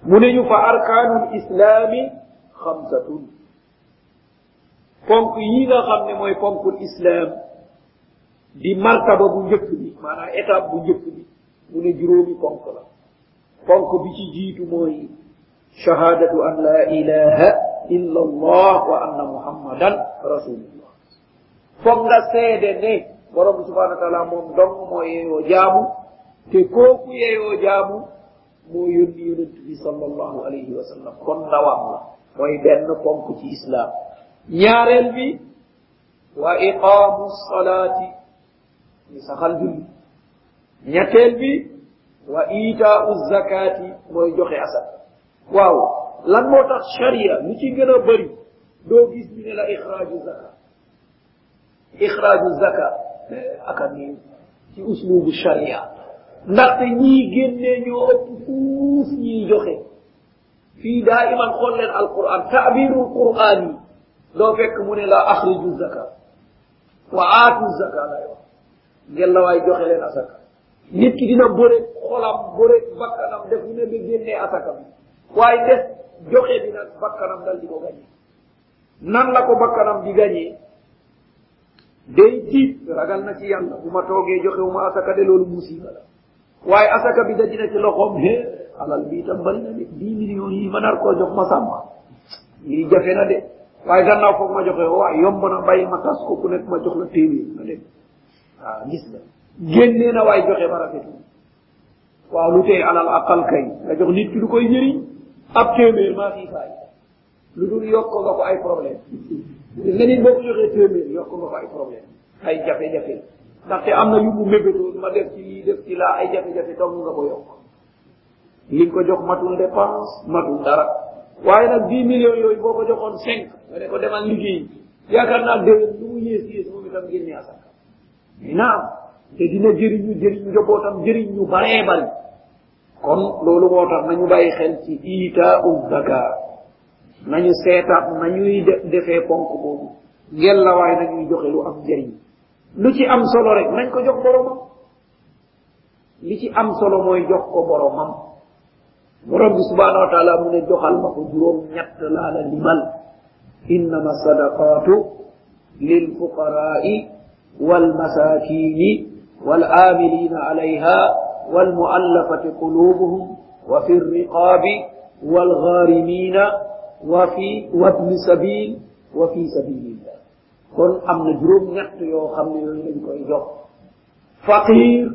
mu ne ñu fa arkaanul islaami xamsatun ponk yi nga xam ne mooy ponkul islam di martaba bu njëkk bi maanaam étape bu njëkk bi mu ne juróomi ponk la ponk bi ci jiitu mooy shahadatu an la ilaha illa allah wa anna muhammadan rasulullah foog nga seede ne borom subhanahu wa taala moom dong moo yeeyoo jaamu te kooku yeeyoo jaamu moo yónni yonent bi sallallahu alayhi wa sallam kon ndawam la mooy benn ponk ci islam ñaareel bi wa iqaamu salaati ni saxal julli ñetteel bi wa itaau zakati mooy joxe asaka waaw lan moo tax sharia lu ci gën a bëri doo gis ñu ne la ixraaju zaka aka nii ci uslubu sharia ndaxte ñii génnee ñoo ëpp fuuf ñiy joxe fii daa iman xool leen alquran taabirul quran yi doo fekk mu ne la axriju zaka wa aatu zaka la yo ngel la waay joxe leen asaka nit ki dina bëre xolam bëre bakkanam def ne ba génnee asaka bi waaye des joxe bi nag bakkanam dal di ko gañee nan la ko bakkanam di gañee day tiit ragal na ci yàlla bu ma toogee joxewuma asaka de loolu musiba la waaye asaka bi dajina ci loxoom alal bi itam bari na de 10 millions yi ma nar koo jox ma sàmma lii jafe na de waaye gannaaw foog ma joxe waaye yomb na bàyyi ma tas ko ku nekk ma jox la téeméer na dem waaw gis nga génnee na waaye joxe ba rafetu waaw lu tey alal aqal kay nga jox nit ki lu koy njëriñ ab téeméer maa fii faay lu dul yokk nga ko ay problème nga nit boo ko joxee téeméer yokk nga ko ay problème ay jafe-jafe ndaxte am na yu mu mébétoon ma def ci lii def ci laa ay jafe-jafe dong nga ko yokk li nga ko jox matul dépense matul dara waaye nag 10 millions yooyu boo ko joxoon 5 nga ne ko demal liggéey yaakaar naa déwén lu mu yées moom itam génne asaka naam te dina jëriñu njabootam jëriñ ñu baree bari kon loolu moo tax nañu bàyyi xel ci itaa'u zakat nañu seetaat nañuy defee ponk boobu ngel la waaye nañuy joxe lu am njëriñ lu ci am solo rek nañ ko jox boromam li ci am solo mooy jox ko boromam borom bi subhanahu wa taala mu ne joxal ma ko juróom ñett laa la limal innama sadaqatu lil fuqara'i wal masakini wal amilina alayha wal mu'allafati qulubuhum wa fi riqabi wal gharimina wa ibni sabil wa fi sabilillah kon am na juróom ñett yoo xam ne yooyu lañ koy jox faqir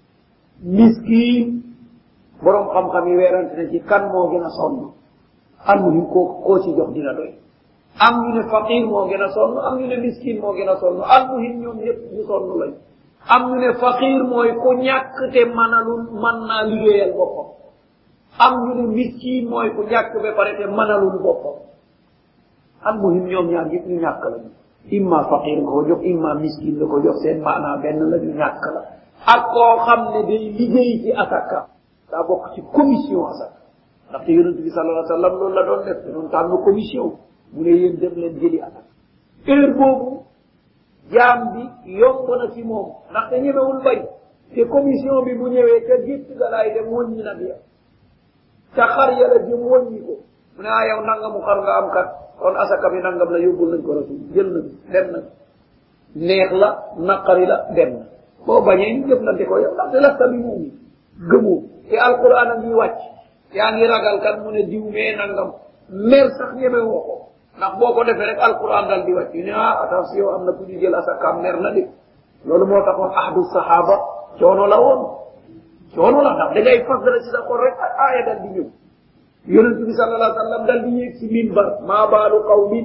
miskin borom xam-xam yi weerante na ci kan moo gën a sonn almuhim koo ci jox dina doy am ñu ne faqir moo gën a sonn am ñu ne miskin moo gën a sonn almuhim ñoom ñëpp ñu sonn lañ am ñu ne faqir mooy ku ñàkk te mën naa liggéeyal boppam am ñu ne miskin mooy ku ñàkk ba pare te mënalul boppam almuhim ñoom ñaar yëpp ñu ñàkk lañu imma faqir nga ko jox imma miskin nga ko jox seen maanaa benn la ñu ñàkk la ak koo xam ne day liggéey ci asaka daa bokk ci commission asaka ndaxte yonent bi sallallahu alayhi wa sallam loolu la doon def te doon tànn commission mu ne yéen dem leen jëli asaka heure boobu jaam bi yomb na ci moom ndaxte ñemewul bañ te commission bi bu ñëwee ca gétt ga laay dem wëññi nag ya ca xar ya la jëm wëññi ko mu ne yow nangamu xar nga am kat kon asaka bi nangam la yóbbul nañ ko rasul jël nañ dem nañ neex la naqari la dem na boo bañee ñu jëflante ko yow ndaxte lasta bi muumi gëmoo te alquran a ngi wàcc yaa ngi ragal kat mu ne diw mee nangam mer sax ñeme woo ko ndax boo ko defee rek alquran dal di wàcc ne attention am na ku ñu jël asaka mer na de loolu moo taxoon ahdu sahaba coono la woon coono la ndax da ngay fas dara ci sa xol rek aaya dal di ñëw yonent bi sallallahu alayhi wa sallam dal di yéeg ci minbar maa baalu qawmin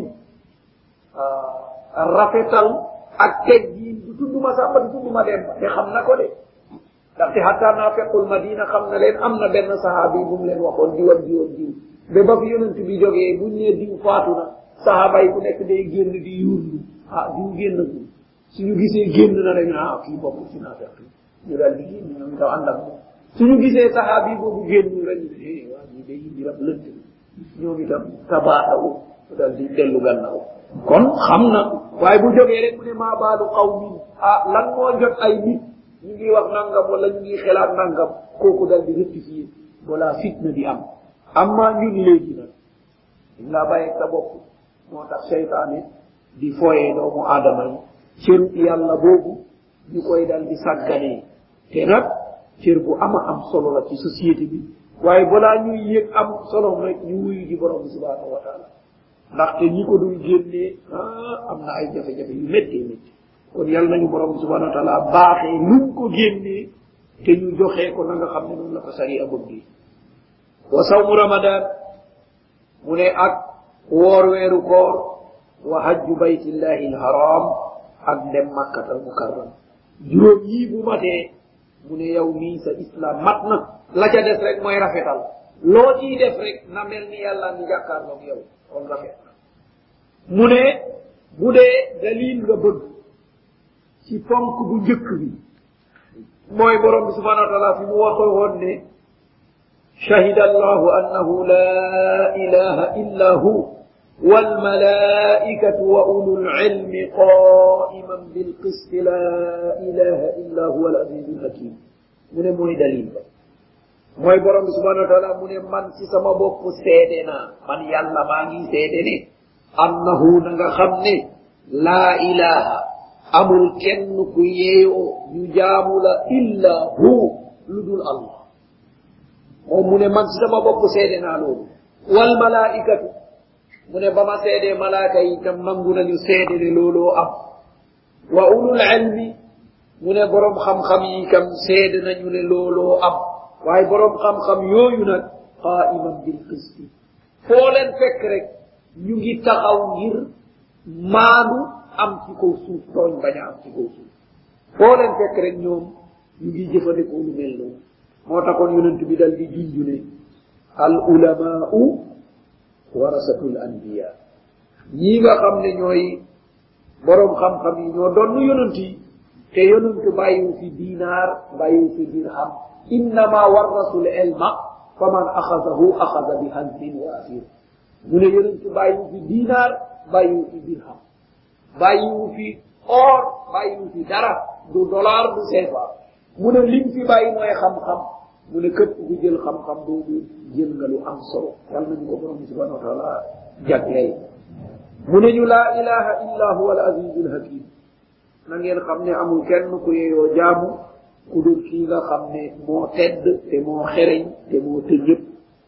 rafetal ak teggiin du tudd ma sàmba du tudd ma dem te xam na ko de ndaxte hatta naafequl madina xam na leen am na benn sahaaba yi bu mu leen waxoon diw ak diw ak diw ba ba fi yonent bi jógee buñ ne diw faatu na sahaaba yi ku nekk day génn di yuurlu diw génn ko suñu gisee génn na rek kii bokk ci naafeq ñu daal di génn ñoom daw ànd ak moom suñu gisee sahaaba yi boobu génn rek ñu waa ñi day indi rab lënt ñoom itam tabaaxawu daal di dellu gannaaw kon xam na waaye bu jógee rek mu ne maa baalu qawmin lan moo jot ay nit ñu ngi wax nangam wala ñu ngi xelaat nangam kooku dal di rectifier wala fitna di am amma ñun léegi nag la bàyyi sa bopp moo tax seytaane di foyee doomu aadama yi cëru yàlla boobu ñu koy dal di sàgganee te nag cër bu am solo la ci société bi waaye balaa ñuy yëg am solo rek ñu wuyu ji borom bi subhanahu wa taala ndaxte ñi ko dul génnee am na ay jafe-jafe yu méttee kon yàlla nañu borom bi subhanahu wa taala baaxee luñ ko génnee te ñu joxee ko na nga xam ne noonu la ko sariya bëgg wa sawmu ramadan mu ne ak woor weeru koor wa hajju baytillahi alharam ak dem makkatal mukarram juróom yii bu matee mu ne yow mii sa islam mat na la ca des rek mooy rafetal loo ciy def rek na mel ni yàlla ni jàkkaarloog yow kon rafet na mu ne bu dee dalil nga bëgg ci ponk bu njëkk bi mooy borom bi subhanahu wa taala fi mu waxoo woon ne shahida allahu annahu la ilaha illa hu والملائكة وأولو العلم قائما بالقسط لا إله إلا هو العزيز الحكيم من موي دليل موي بروم سبحانه وتعالى من من سي سما بوب سيدنا من يالا ماغي سيدني أنه نغا خمني لا إله أمul kenn ku yeyo ñu jaamu la illa hu ludul Allah moom mu ne man ci sama bopp seede naa loolu wal malaikatu mu ne ba ma seedee malaaka yi itam nangu nañu seede ne looloo am wa ulul ilmi mu ne borom xam-xam yi itam seede nañu ne looloo am waaye borom xam-xam yooyu nag qaiman bil qisti foo leen fekk rek ñu ngi taxaw ngir maandu am ci kaw suuf tooñ bañ a am ci kaw suuf foo leen fekk rek ñoom ñu ngi jëfandikoo lu mel noonu moo taxoon yonent bi dal di junju ne al ulamaa'u warasatul anbiya ñi nga xam ne ñooy borom xam-xam yi ñoo doon yonent yi te yonent bàyyiwu fi diinaar bàyyiwu fi dirham innama warasul ilma faman axadahu axada bi hazbin waafir mu ne yonent bàyyiwu fi diinaar bàyyiwu fi dirham bàyyiwu fi or bàyyiwu fi dara du dollar du CFA mu ne lim fi bàyyi mooy xam-xam mu ne képp ku jël xam-xam boobu jël nga lu am solo yàlla nañu ko borom subhanahu wa taala jagleel mu ne ñu laa ilaha illa huwa al azizul hakim na ngeen xam ne amul kenn ku yeyoo jaamu ku dul kii nga xam ne moo tedd te moo xereñ te moo tëjëpp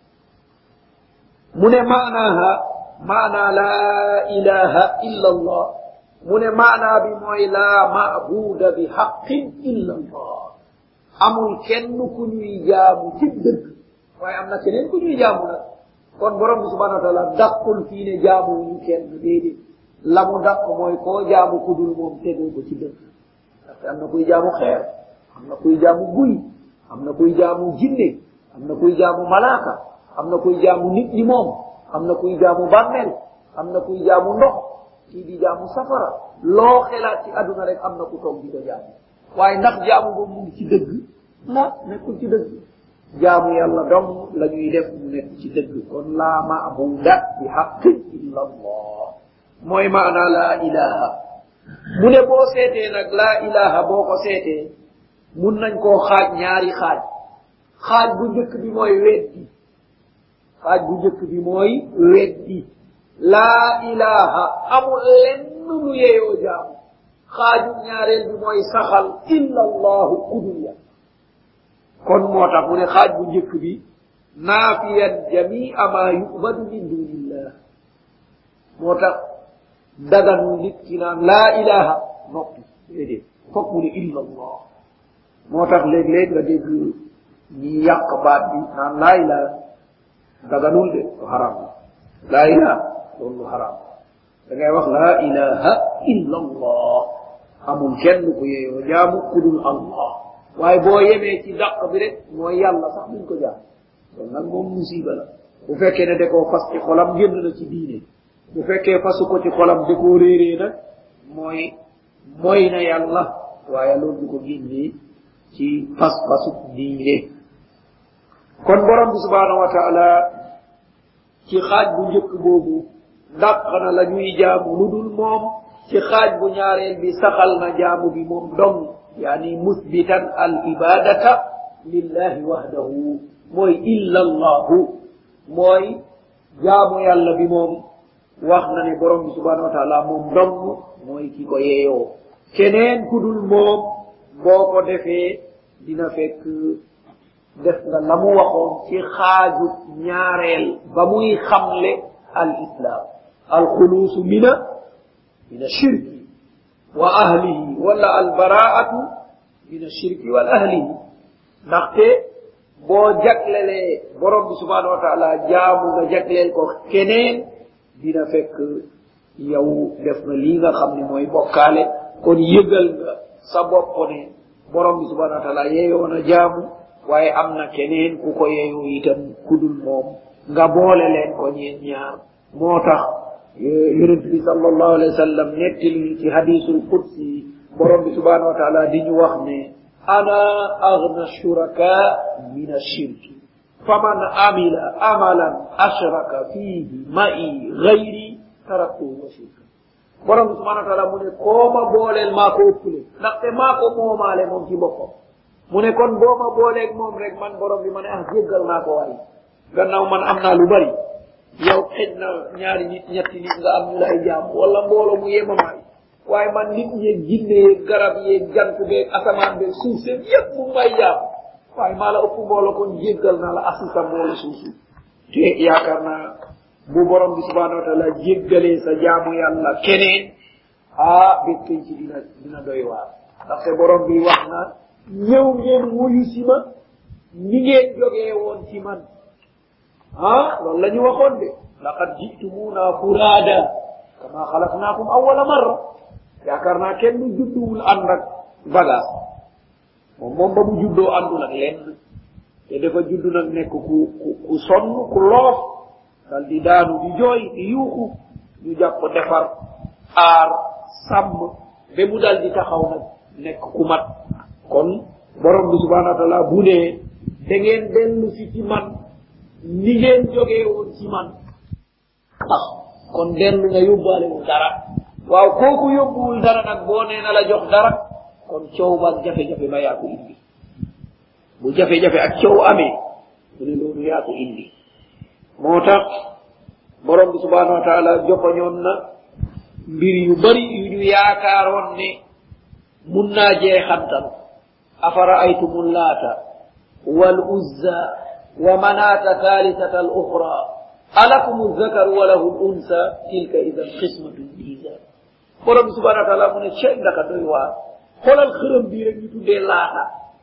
mu ne maanaaha maanaa laa ilaha illa allah mu ne maanaa bi mooy laa maabuda bi haqqin illa allah amul kenn ku ñuy jaamu ci dëgg waaye am na keneen ku ñuy jaamu nag kon borom bi subhanahu wa taala dàqul fii ne jaamu ñu kenn déedéet la mu dàq mooy koo jaamu ku dul moom tegoo ko ci dëgg parce que am na kuy jaamu xeer am na kuy jaamu guy am na kuy jaamu jinne am na kuy jaamu malaaka am na kuy jaamu nit ñi moom am na kuy jaamu bàmmeel am na kuy jaamu ndox kii di jaamu safara loo xelaat ci àdduna rek am na ku toog di ko jaamu waaye ndax jaamu boobu mu ngi ci dëgg la nekkul ci dëgg jaamu yàlla dong la ñuy def mu nekk ci dëgg kon laa maabuda bi haqqin illa allah mooy maana laa ilaha mu ne boo seetee nag laa ilaha boo ko seetee mun nañ koo xaaj ñaari xaaj xaaj bu njëkk bi mooy weddi xaaj bu njëkk bi mooy weddi laa ilaha amul lenn lu yeyoo jaamu xaaju ñaareel bi mooy saxal illa allahu kudul ya kon moo tax mu ne xaaj bu njëkk bi naafiyan jamia ma yubadu min dunillah moo tax daganu nit ki naan laa ilaha noppi déedéet foog mu ne illa allah moo tax léeg-léeg nga dégg ñi yàq baat bi naan laa ilaha daganul de lu haram laa ilaha loolu lu haram da ngay wax laa ilaha illa allah amul kenn ku yeeyoo jaamu kudul allah waaye boo yemee ci dàq bi rek mooy yàlla sax duñ ko jaam loolu nag moom musiba la bu fekkee ne da koo fas ci xolam génn na ci diine bu fekkee fasu ko ci xolam da koo réeree nag mooy na yàlla waaye loolu du ko génnee ci fas-fasu diine kon borom bi subhanahu wa taala ci xaaj bu njëkk boobu dàq na la ñuy jaamu lu dul moom ci xaaj bu ñaareel bi saxal na jaamu bi moom dong yani musbitan al ibadata lillahi wahdahu mooy illa allahu mooy jaamu yàlla bi moom wax na ne borom bi subhanahu wa taala moom dong mooy ki ko yeeyoo keneen ku dul moom boo ko defee dina fekk def nga la mu waxoon ci xaaju ñaareel ba muy xamle al islam al xuluusu mina shirki wa ahlihi wala al baraatu mina shirki wal ahlihi ndaxte boo jaglelee borom bi subhanahu wa taala jaamu nga jagleel ko keneen dina fekk yow def na lii nga xam ne mooy bokkaale kon yëgal nga sa bopp ne borom bi subhanahu wa taala yeeyoo na jaamu waaye am na keneen ku ko yeeyoo itam kudul moom nga boole leen ko ñeen ñaar moo tax yonent bi sallallahu alayhi wa sallam nettali ci hadisul qudsi borom bi subhanahu wa taala di ñu wax ne ana aghna shuraka min ashirki faman amila amalan ashraka fihi ma'i ghayri taraktuhu wa shirka borom bi subhanahu wa taala mu ne koo ma booleel maa ko ëppale ndaxte maa ko moomaale moom ci boppam mu ne kon boo ma booleeg moom rek man borom bi ma ne jéggal naa ko waay gannaaw man am naa lu bari yow xëj na ñaari nit ñetti nit nga am ñu lay jaam wala mbooloo mu yemamaay waaye man nit ñeeg jinne yeeg garab yeeg jant beeg asamaan beeg suuf seen yëpp mu may jaam waaye maa la ëpp mbooloo kon jéggal naa la asisa mbooloo suusu te yaakaar naa bu borom bi subhanahu wa taala jéggalee sa jaamu yàlla keneen bés kañ ci dina doy waar ndaxte borom bi wax na ñëw ngeen wuyu si ma ni ngeen jógee woon ci man loolu la ñu waxoon de laqad jitumuna furaada kama xalaqnaakum awwala marra yaakaar naa kenn du judduwul ànd ak bagage moom ba mu juddoo àndul ak lenn te dafa juddu nag nekk ku sonn ku loof dal di daanu di jooy di yuuxu ñu jàpp defar aar sàmm ba mu dal di taxaw nag nekk ku mat kon borom bi subhanahu wa taala bu ne da ngeen dellu si ci man ni ngeen jógee woon ci man kon dellu nga yóbbaalewul dara waaw kooku yóbbuwul dara nag boo nee na la jox dara kon coow ba ak jafe-jafe ba yaa ko indi bu jafe-jafe ak coow amee mu ne loolu yaa ko indi moo tax borom bi subhanahu wa taala joxoñoon na mbir yu bari yu ñu yaakaaroon ne mun naa jeexantal afara aytumul laata wal uzza wa manata thalithata al ukhra alakum dhakaru wa lahu al unsa tilka idan qismatun diza borom bi subhanahu wa taala mu ne cey ndaka doy waar xoolal xërëm bii rek ñu tuddee laata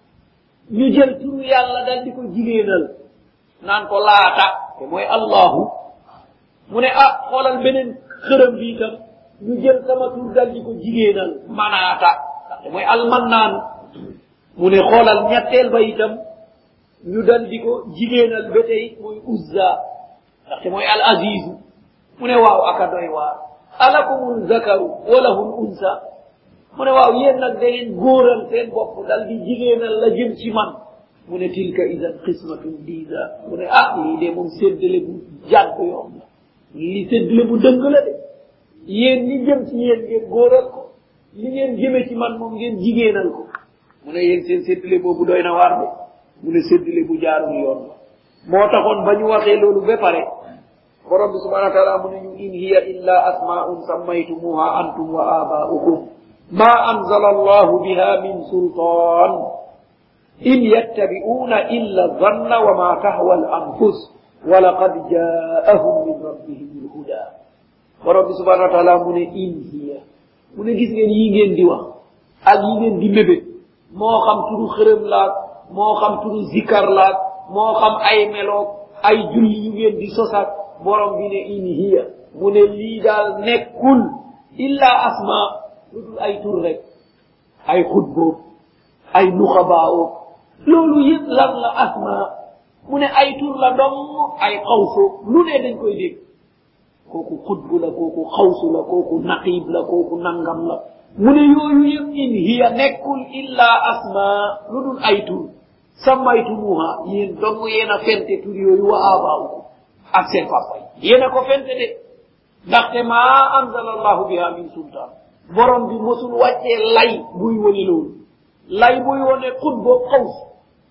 ñu jël turu yàlla dal di ko jigéenal naan ko laata te mooy allahu mu ne xoolal beneen xërëm bi itam ñu jël sama tur dal di ko jigéenal manaata te mooy almannaan mu ne xoolal ñetteel ba itam ñu dal di ko jigéenal ba tey mooy uzza ndaxte mooy al azizu mu ne waaw aka doy waar alakumul zakaru wa lahul unsa mu ne waaw yéen nag da ngeen góoral seen bopp dal di jigéenal la jëm ci man mu ne tilka idan qismatun diza mu ne lii de moom séddale bu jàdd yoon la li séddale bu dëng la de yéen li jëm ci yéen ngeen góoral ko li ngeen jëme ci man moom ngeen jigéenal ko mu ne yéen seen séddale boobu doy na waar de mu ne séddale bu jaarul yoon la moo taxoon ba ñu waxee loolu ba pare borom bi subhanahu wa taala mu ne ñu in hiya illa asma'un sammaytumuha antum wa aba'ukum ma anzala allahu biha min sultan in yattabi'una illa dhanna wa ma tahwa al anfus wa laqad ja'ahum min rabbihim al huda borom bi subhanahu wa taala mu ne in hiya mu ne gis ngeen yi ngeen di wax ak yi ngeen di mébét moo xam turu xërëm laak moo xam turu zikar laak moo xam ay meloog ay julli yu ngeen di sosaat borom bi ne in hiya mu ne lii daal nekkul illa asma lu dul ay tur rek ay xutboob ay nuxabaawoog loolu yëpp lan la asma mu ne ay tur la dong ay xawsu lu ne dañ koy dégg kooku xutbu la kooku xawsu la kooku naqib la kooku nangam la mu ne yooyu yëpp in hiya nekkul illa asma lu dul ay tur sammaytumuha yéen dong yéen a fente tur yooyu wa abaa'ukum ak seen papa yi yéen a ko fente de ndaxte maa anzala allahu biha min sultaan borom bi mosul wàccee lay buy wone loolu lay buy wone xutboo xaws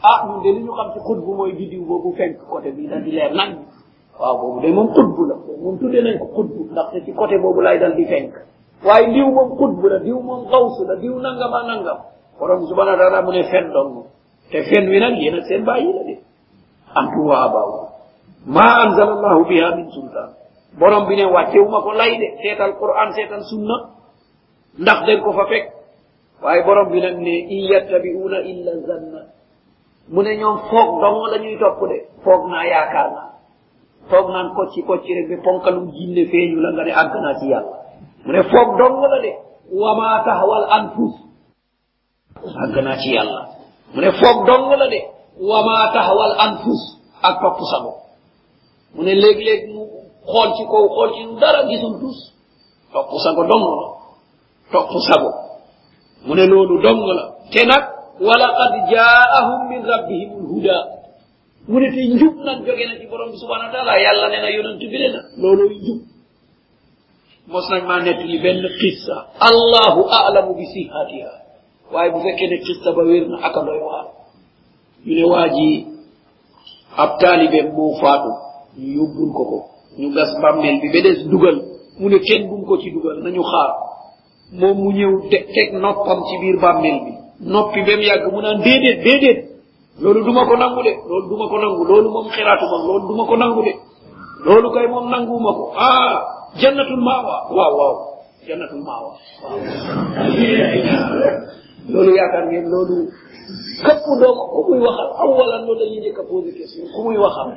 ah ñun de li ñu xam ci xutbu mooy bidiw boobu fenk côté bi dal di leer nañ waaw boobu de moom xutbu la moom tuddee nañ ko xutbu ndaxte ci côté boobu lay dal di fenk waaye diw moom xutbu la diw moom xawsu la diw nangam ak nangam borom subhanahu wa taala mu ne fen dong te fen wi nag yéen ak seen bàyyi la de antu wa abaw ma anzala allahu biha min sultan borom bi ne wàccewuma ko lay de seetal quran seetal sunna ndax den ko fa fekk waaye borom bi nag ne in yattabi'una illa zanna mu ne ñoom foog dong la ñuy topp de foog naa yaakaar naa foog naan kocci kocci rek ba ponkalum jinne feeñu la nga ne àgg naa ci yàlla mu ne foog dong la de wama tahwal anfus àgg naa ci yàlla mu ne foog dong la de wama tahwal anfus ak topp sago mu ne léeg-léeg mu xool ci kaw xool ci dara gisul tus topp sago dong la topp sago mu ne loolu dong la te nag walaqad jaahum min rabbihim alhuda mu ne te njub nag jóge na ci borom bi subhanahu wa taala yàlla ne na yonent bi ne na loolooy njub mos nañ maa nett li benn qissa allahu a'lamu bi sihatiha waaye bu fekkee ne qissa ba wér na aka doy waar ñu ne waa ji ab taalibeem moo faatu ñu yóbbul ko ñu gas bàmmeel bi ba des dugal mu ne kenn bum ko ci dugal nañu xaar moom mu ñëw teg noppam ci biir bàmmeel bi noppi ba mu yàgg mu naan déedéet loolu duma ko nangu de loolu duma ko nangu loolu moom xiraatuma loolu duma ko nangu de loolu kay moom nanguuma ko jannatul maawa waaw jannatul maawa waaw loolu yaakaar ngeen loolu képp doomu ku muy waxal awalan loolu dañuy njëkk a posé question ku muy waxal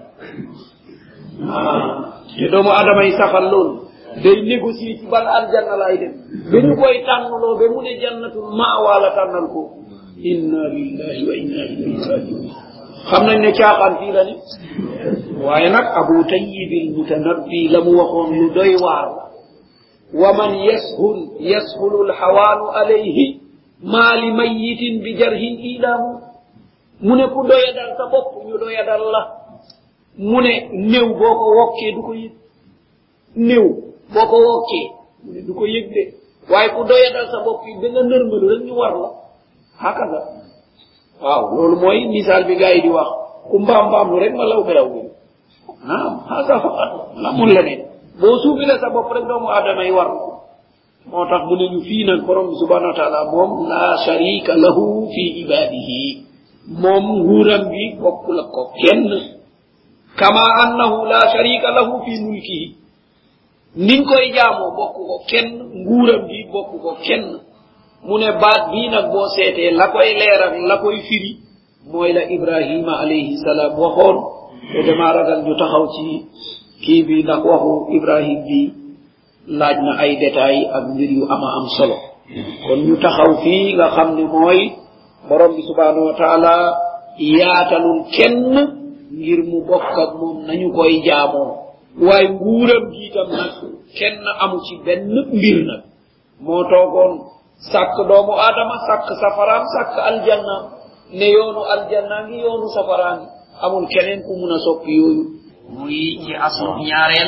te doomu adama yi saxal loolu day négocier ci ban aljanna laay dem ba ñu koy tànnloo ba mu ne jannatul maawa la tànnal ko inna lillahi wa inna ilayhi rajiun xam nañ ne caaxaan fii la ne waaye nag abu tayyibil mutanabbi la mu waxoon lu doy waar la wa man yashulu alxawaalu alayhi maa li mayitin bi jarhin ilaahu mu ne ku doyadal sa bopp ñu doyadal la mu ne néew boo ko wokkee du ko yëg néew boo ko wokkee mu ne du ko yëg de waaye ku doyadal sa bopp yi da nga nërmalu rek ñu war la hakaza waaw loolu mooy misaal bi gars yi di wax ku mbaam lu rek ma law beraw bi naam hasa faqat lamul leneen boo suufile sa bopp rek doomu aadama yi war moo tax mu ne ñu fii nag borom bi subhanahu wa taala moom la sharika lahu fi ibadihi moom nguuram bi bokkul ak ko kenn kama annahu la sharika lahu fi mulkihi niñ koy jaamoo bokku ko kenn nguuram bi bokku ko kenn mu ne baat bii nag boo seetee la koy leeral la koy firi mooy la ibrahima alayhi salaam waxoon te dama ragal ñu taxaw ci kii bi ndax waxu ibrahim bi laaj na ay détails ak mbir yu ama am solo kon ñu taxaw fii nga xam ne mooy borom bi subhanahu wa taala yaatalul kenn ngir mu bokk ak moom nañu koy jaamoo waaye nguuram gi itam nag kenn amu ci benn mbir nag moo toogoon sàkk doomu aadama sàkk safaraam sàkk aljanna ne yoonu aljanna ngi yoonu safaraan amul keneen ku mun a soppi yooyu muy ci aslu ñaareel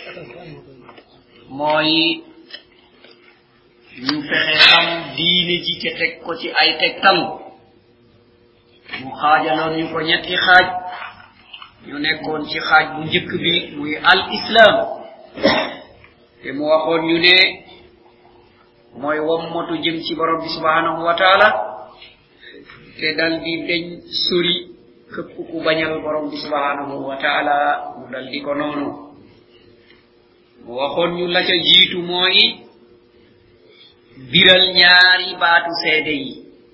mooy ñu fexe xam diine ji te teg ko ci ay tegtal mu xaajaloon ñu ko ñetti xaaj ñu nekkoon ci xaaj bu njëkk bi muy al islam te mu waxoon ñu ne mooy wommatu jëm ci borom bi subhanahu wa taala te dal di deñ sori këpp ku bañal borom bi subhanahu wa taala mu dal di ko noonu mu waxoon ñu la ca jiitu mooy biral ñaari baatu seede yi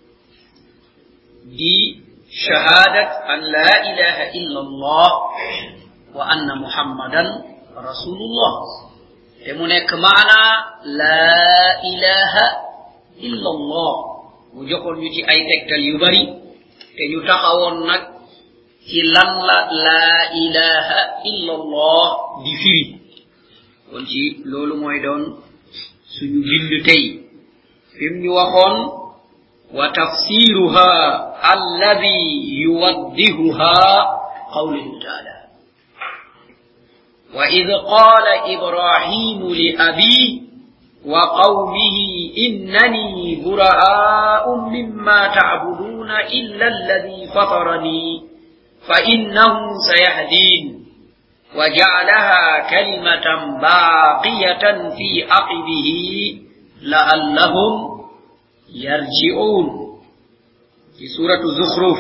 di shahadat an la ilaha illa allah wa anna muhammadan rasulullah te mu nekk maana la ilaha illa allah mu joxoon ñu ci ay tegtal yu bari te ñu taxawoon nag ci lan la ilaha illa allah di firi kon ci loolu mooy doon suñu bind tey fim ñu waxoon wa tafsiruha alladhi yuwaddihuha qawluhu ta'ala wa idh qala ibrahimu li abihi وقومه إنني براء مما تعبدون إلا الذي فطرني فإنه سيهدين وجعلها كلمة باقية في عقبه لعلهم يرجعون في سورة الزخرف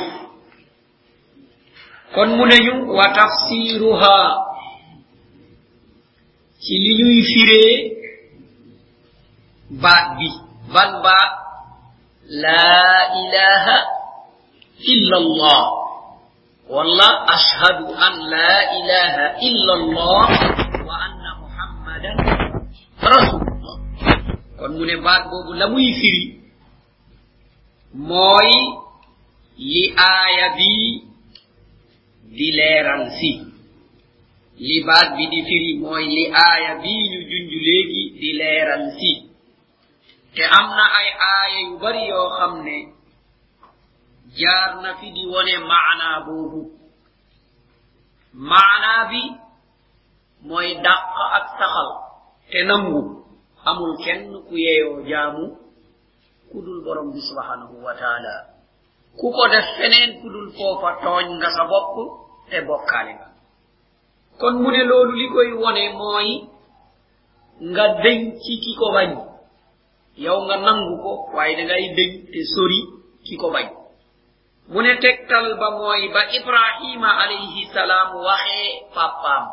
كن منيو وتفسيرها ci li ñuy firé baat bi ban baat la ilaha illa allah walla ashhadu an la ilaha illa allah wa anna muhammadan rasulullah kon mu ne baat boobu la muy firi mooy li aaya bi di leeral si li baat bi di firi mooy li aaya bi ñu junj léegi di leeral si te am na ay aaya yu bari yoo xam ne jaar na fi di wone maana boobu maana bi mooy dàq ak saxal te nangu amul kenn ku yeeyoo jaamu kudul borom bi subhanahu wa taala ku ko def feneen kudul foofa tooñ nga sa bopp te bokkaale nga kon mu ne loolu li koy wone mooy nga deñ ci ki ko bañ yow nga nangu ko waaye da ngay deñ te sori ki ko bañ mu ne tegtal ba mooy ba ibrahima alayhi salaam waxee papaam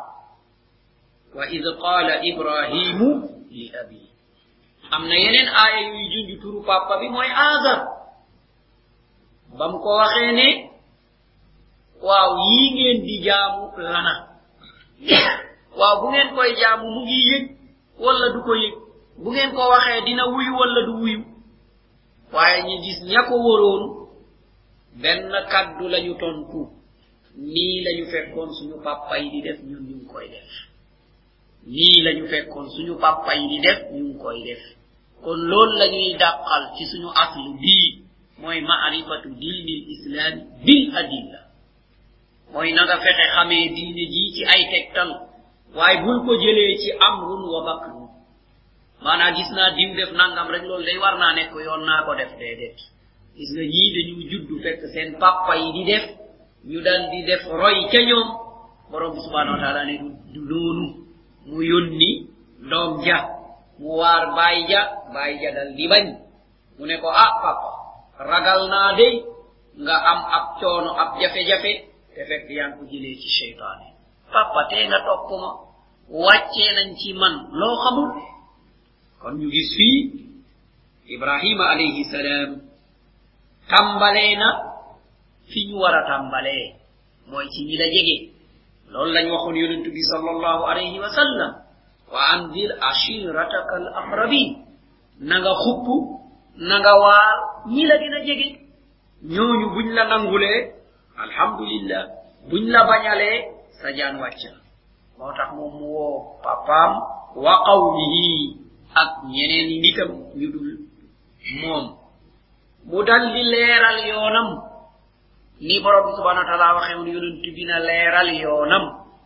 wa id qaala ibrahimu li abi am na yeneen aaya yuy junj turu papa bi mooy azar bam ko waxee ne waaw yii ngeen di jaamu lana waaw bu ngeen koy jaamu mu ngi yëg wala du ko yëg bu ngeen ko waxee dina wuyu wala du wuyu waaye ñi gis ña ko wóroon benn kaddu lañu tontu nii lañu fekkoon suñu papa yi di def ñun ñu ngi koy def nii lañu fekkoon suñu papa yi di def ñu ngi koy def kon loolu lañuy dàqal ci suñu aslu bii mooy ma'rifatu diinil islam bil adilla mooy na nga fexe xamee diine ji ci ay tegtal waaye bul ko jëlee ci amrun wa bakrun maanaam gis naa diw def nangam rek loolu day war naa nekk yoon naa ko def déedéet gis nga ñii dañu juddu fekk seen papa yi di def ñu dal di def roy ca ñoom borom bi subhanahu wa taala ne du noonu mu yónni doom ja mu waar baay ja dal di bañ mu ne ko ah papa ragal naa de nga am ab coono ab jafe-jafe te fekk yaa ngi ko jëlee ci seytaane papa tee nga topp ma wàccee nañ ci man loo xamul kon ñu gis fii ibrahima alayhi salaam tàmbalee na fi ñu war a tàmbalee mooy ci ñi la jege loolu lañ waxoon yonent bi sallallahu alayhi wa sallam wa anzir ashirataka al aqrabin na nga xupp na nga waar ñi la gën a jege ñooñu buñ la nangulee alhamdulillah buñ la bañalee sa jaan wàcc moo tax moom mu woo papaam wa qawmihi ak ñeneen nitam ñu dul moom mu dal di leeral yoonam ni borom bi subhanahu wa taala waxee woon yonent bi na leeral yoonam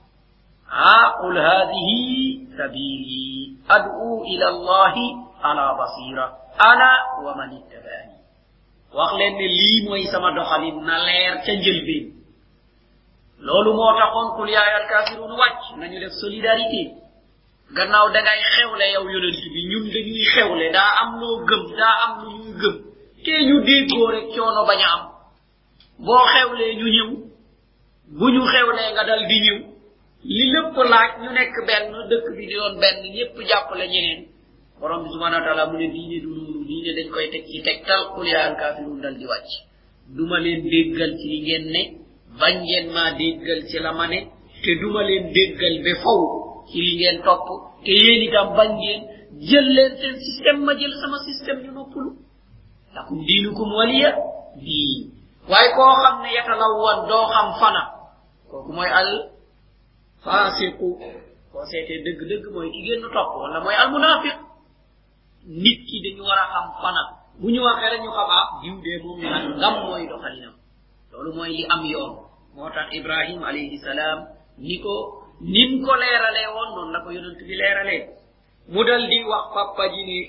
qul hadihi sabili ad'u ila allahi ala basira ana wa man ittabani wax leen ne lii mooy sama doxalin na leer ca njëlbeen loolu moo taxoon qul yaa ayyuhal kaafiruun wàcc nañu def solidarité gannaaw dangay xewle yow yonent bi ñun dañuy xewle daa am loo gëm daa am lu ñuy gëm te ñu déggoo rek coono bañ a am boo xewlee ñu ñëw bu ñu xewlee nga dal di ñëw li lépp laaj ñu nekk benn dëkk bi di doon benn ñépp jàppale ñeneen borom bi subhanahu wa taala mu ne diine du loolu diine dañ koy teg ci tegtal qul yaa ayyuhal kaafiruun dal di wàcc duma leen déggal ci li ngeen ne bañ ngeen maa déggal ci la ma ne te duma leen déggal ba faw ci li ngeen topp te yéen itam bañ ngeen jël leen seen système ma jël sama système ñu noppalu lakum diinukum waliya diin waaye koo xam ne yatalawwan doo xam fana kooku mooy al fasiqu koo seetee dëgg-dëgg mooy ki génn topp wala mooy al munafiq nit ki dañu war a xam fana bu ñu waxee rek ñu xam diw dee moom ngam mooy doxalinam loolu mooy li am yoon moo tax ibrahim alayhi salaam nim ko leeralee woon noonu la ko yonent bi leeralee mu dal di wax papa ji ne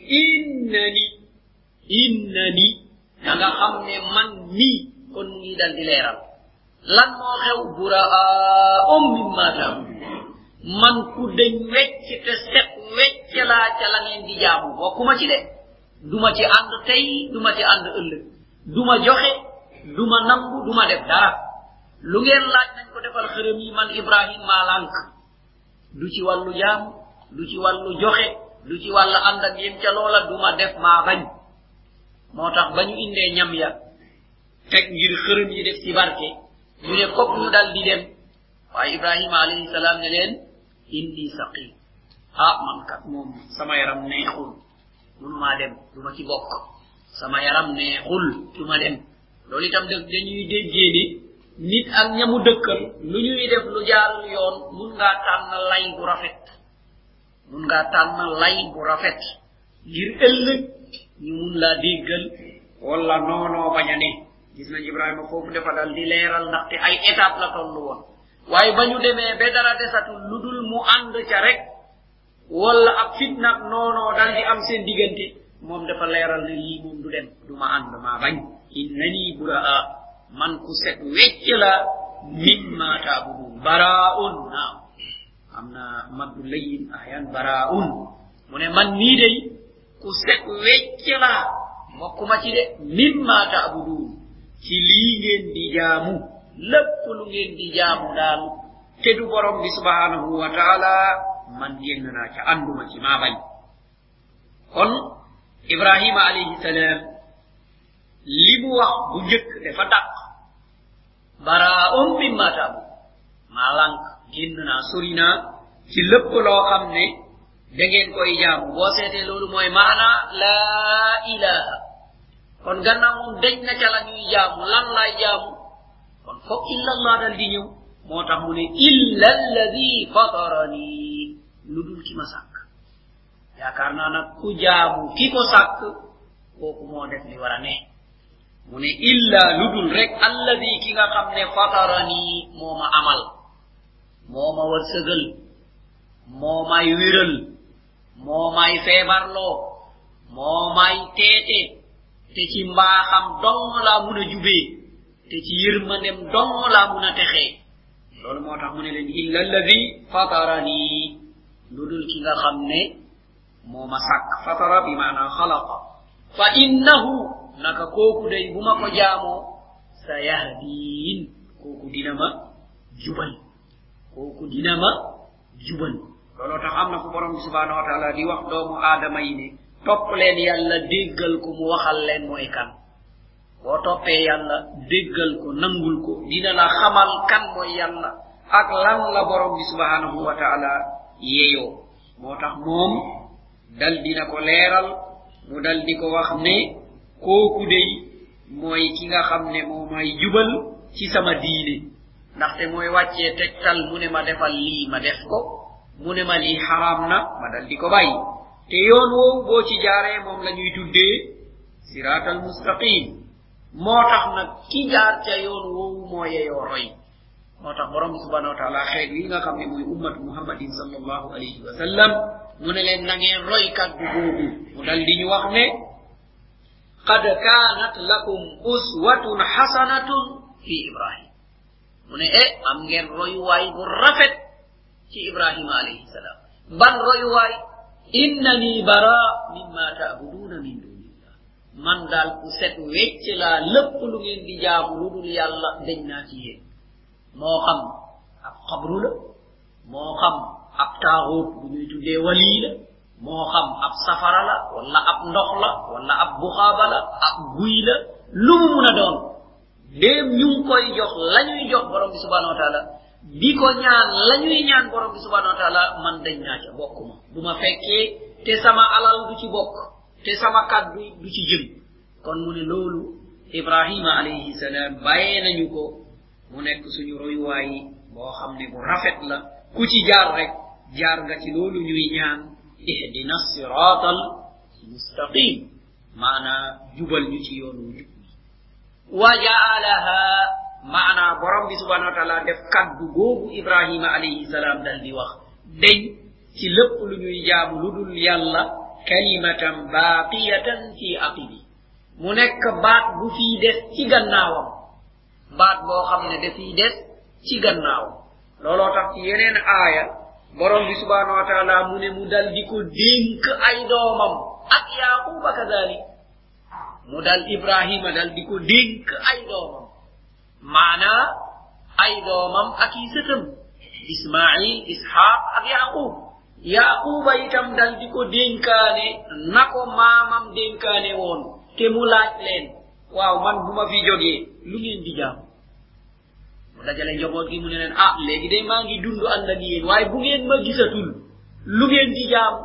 innani da nga xam ne man nii kon mu ngi dal di leeral lan moo xew buraa mimma ta'budun man ku deñ wecc te set wecc laa ca la ngeen di jaamu bokkuma ci de duma ci ànd tey duma ci ànd ëllëg duma joxe duma nangu duma def dara lu ngeen laaj nañ ko defal xërëm yi man Ibrahim maa lànk du ci wàllu jaam du ci wàllu joxe du ci wàllu ànd ak yéen ca loola duma def maa bañ moo tax ba ñu indee ñam ya teg ngir xërëm yi def ci barke ñu ne fokk ñu dal di dem waaye Ibrahima alayhi salaam ne leen inni saqim man kat moom sama yaram neexul mënumaa dem duma ci bokk sama yaram neexul duma dem loolu itam dañuy déggee ni nit ak ñamu dëkkal lu ñuy def lu jaarul yoon mun ngaa tànn lay bu rafet ngir ëllëg ñu mun laa déggal wala noonoo bañ a ne gis nañ Ibrahima foofu dafa dal di leeral ndaxte ay étape la tollu woon waaye ba ñu demee ba dara desatul lu dul mu ànd ca rek wala ab fitnaak noonoo dal di am seen diggante moom dafa leeral ne lii moom du dem du ma ànd maa bañ innani buraa man ku set wecc la mimma ta'budun baraa'un naam am na maddu layin ahyan baraa'un mu ne man nii day ku set wecc la bokkuma ci de mimma ta'budun ci lii ngeen di jaamu lépp lu ngeen di jaamu daal te du borom bi subhanahu wa ta'ala man génn naa ca ànduma ci maa bañ kon Ibrahima alayhi salaam li mu wax bu njëkk dafa dàq baraa'un mimma ta'budun maa lànk génn naa sori naa ci lépp loo xam ne da ngeen koy jaamu boo seetee loolu mooy maana laa ilaha kon gannaaw moom deñ na ca la ñuy jaamu lan laay jaamu kon foog illa allah dal di ñëw moo tax mu ne illa alladi fatarani lu dul ki ma sàkk yaakaar naa nag ku jaamu ki ko sàkk kooku moo def li war a ne mu ne illa lu dul rek alladi ki nga xam ne fatarani moo ma amal moo ma wërsëgal moo may wéral moo may feebarloo moo may teete te ci mbaaxam dong laa mun a jubee te ci yërmandem dong laa mun a texee loolu moo tax mu ne leen illa alladi fatarani lu dul ki nga xam ne moo ma sàkk fatara bi maana xalaqa fa innahu naka kooku day bu ma ko jaamoo sa yahdiin kooku dina ma jubal looloo tax am na fu borom bi subhanahu wa taala di wax doomu aadama yi ne topp leen yàlla déggal ko mu waxal leen mooy kan boo toppee yàlla déggal ko nangul ko dina la xamal kan mooy yàlla ak lan la borom bi subhanahu wa taala yeeyoo moo tax moom dal dina ko leeral mu dal di ko wax ne kooku dey mooy ki nga xam ne moo may jubal ci sama diine ndaxte mooy wàccee tegtal mu ne ma defal lii ma def ko mu ne ma lii xaraam na ma dal di ko bàyyi te yoon woowu boo ci jaaree moom la ñuy tuddee siraatal mustaqim moo tax nag ki jaar ca yoon woowu moo yeyoo roy moo tax borom bi subhanahu wa taala xeet yi nga xam ne mooy ummatu muhammadin sallallahu alayhi wa sallam mu ne leen na ngeen roy kaddu googu mu dal di ñu wax ne qad kaanat lakum uswatun hasanatun fi ibrahim mu ne am ngeen royuwaay bu rafet ci ibrahima alayhi salam ban royuwaay innani bara mimma ta'buduna min dunillah man daal ku set wecc laa lépp lu ngeen di jaamu lu dul yàlla dañ naa ci yéen moo xam ab xabru la moo xam ab taaxuut bu ñuy tuddee wali la moo xam ab safara la wala ab ndox la wala ab buxaaba la ab guy la lu mu mun a doon déem ñu ngi koy jox la ñuy jox borom bi subhanahu wa taala di ko ñaan la ñuy ñaan borom bi subhanahu wa taala man dañ naa ca bokkuma du ma fekkee te sama alal du ci bokk te sama kaddu du ci jëm kon mu ne loolu ibrahima alayhi salaam bàyyee nañu ko mu nekk suñu royuwaay boo xam ne bu rafet la ku ci jaar rek jaar nga ci loolu ñuy ñaan ihdina siratal mustaqim maana jubal ñu ci yoonu jub wa ja'alaha maana borom bi subhanahu wa ta'ala def kaddu googu ibrahima alayhi salam dal di wax deñ ci lepp lu ñuy jaamu ludul yalla kalimatan baqiyatan fi aqibi mu nek baat bu fi dess ci gannaawam baat bo xamne da fi dess ci gannaaw lolo tax ci yeneen aya borom bi subhanahu wa ta'ala mu ne mu dal diko denk ay doomam ak yaquba kadalik mu dal ibrahima dal diko denk ay doomam maana ay doomam ak yi sëtam ismail ishaq ak yaqub yaquba itam dal diko denkane nako mamam denkane won te mu laaj len waaw man buma fi joge lu ngeen di jaam mu dajale njobot gi mu ne len legi day ma ngi dundu and ak yeen waye bu ngeen ma gisatul lu ngeen di jaam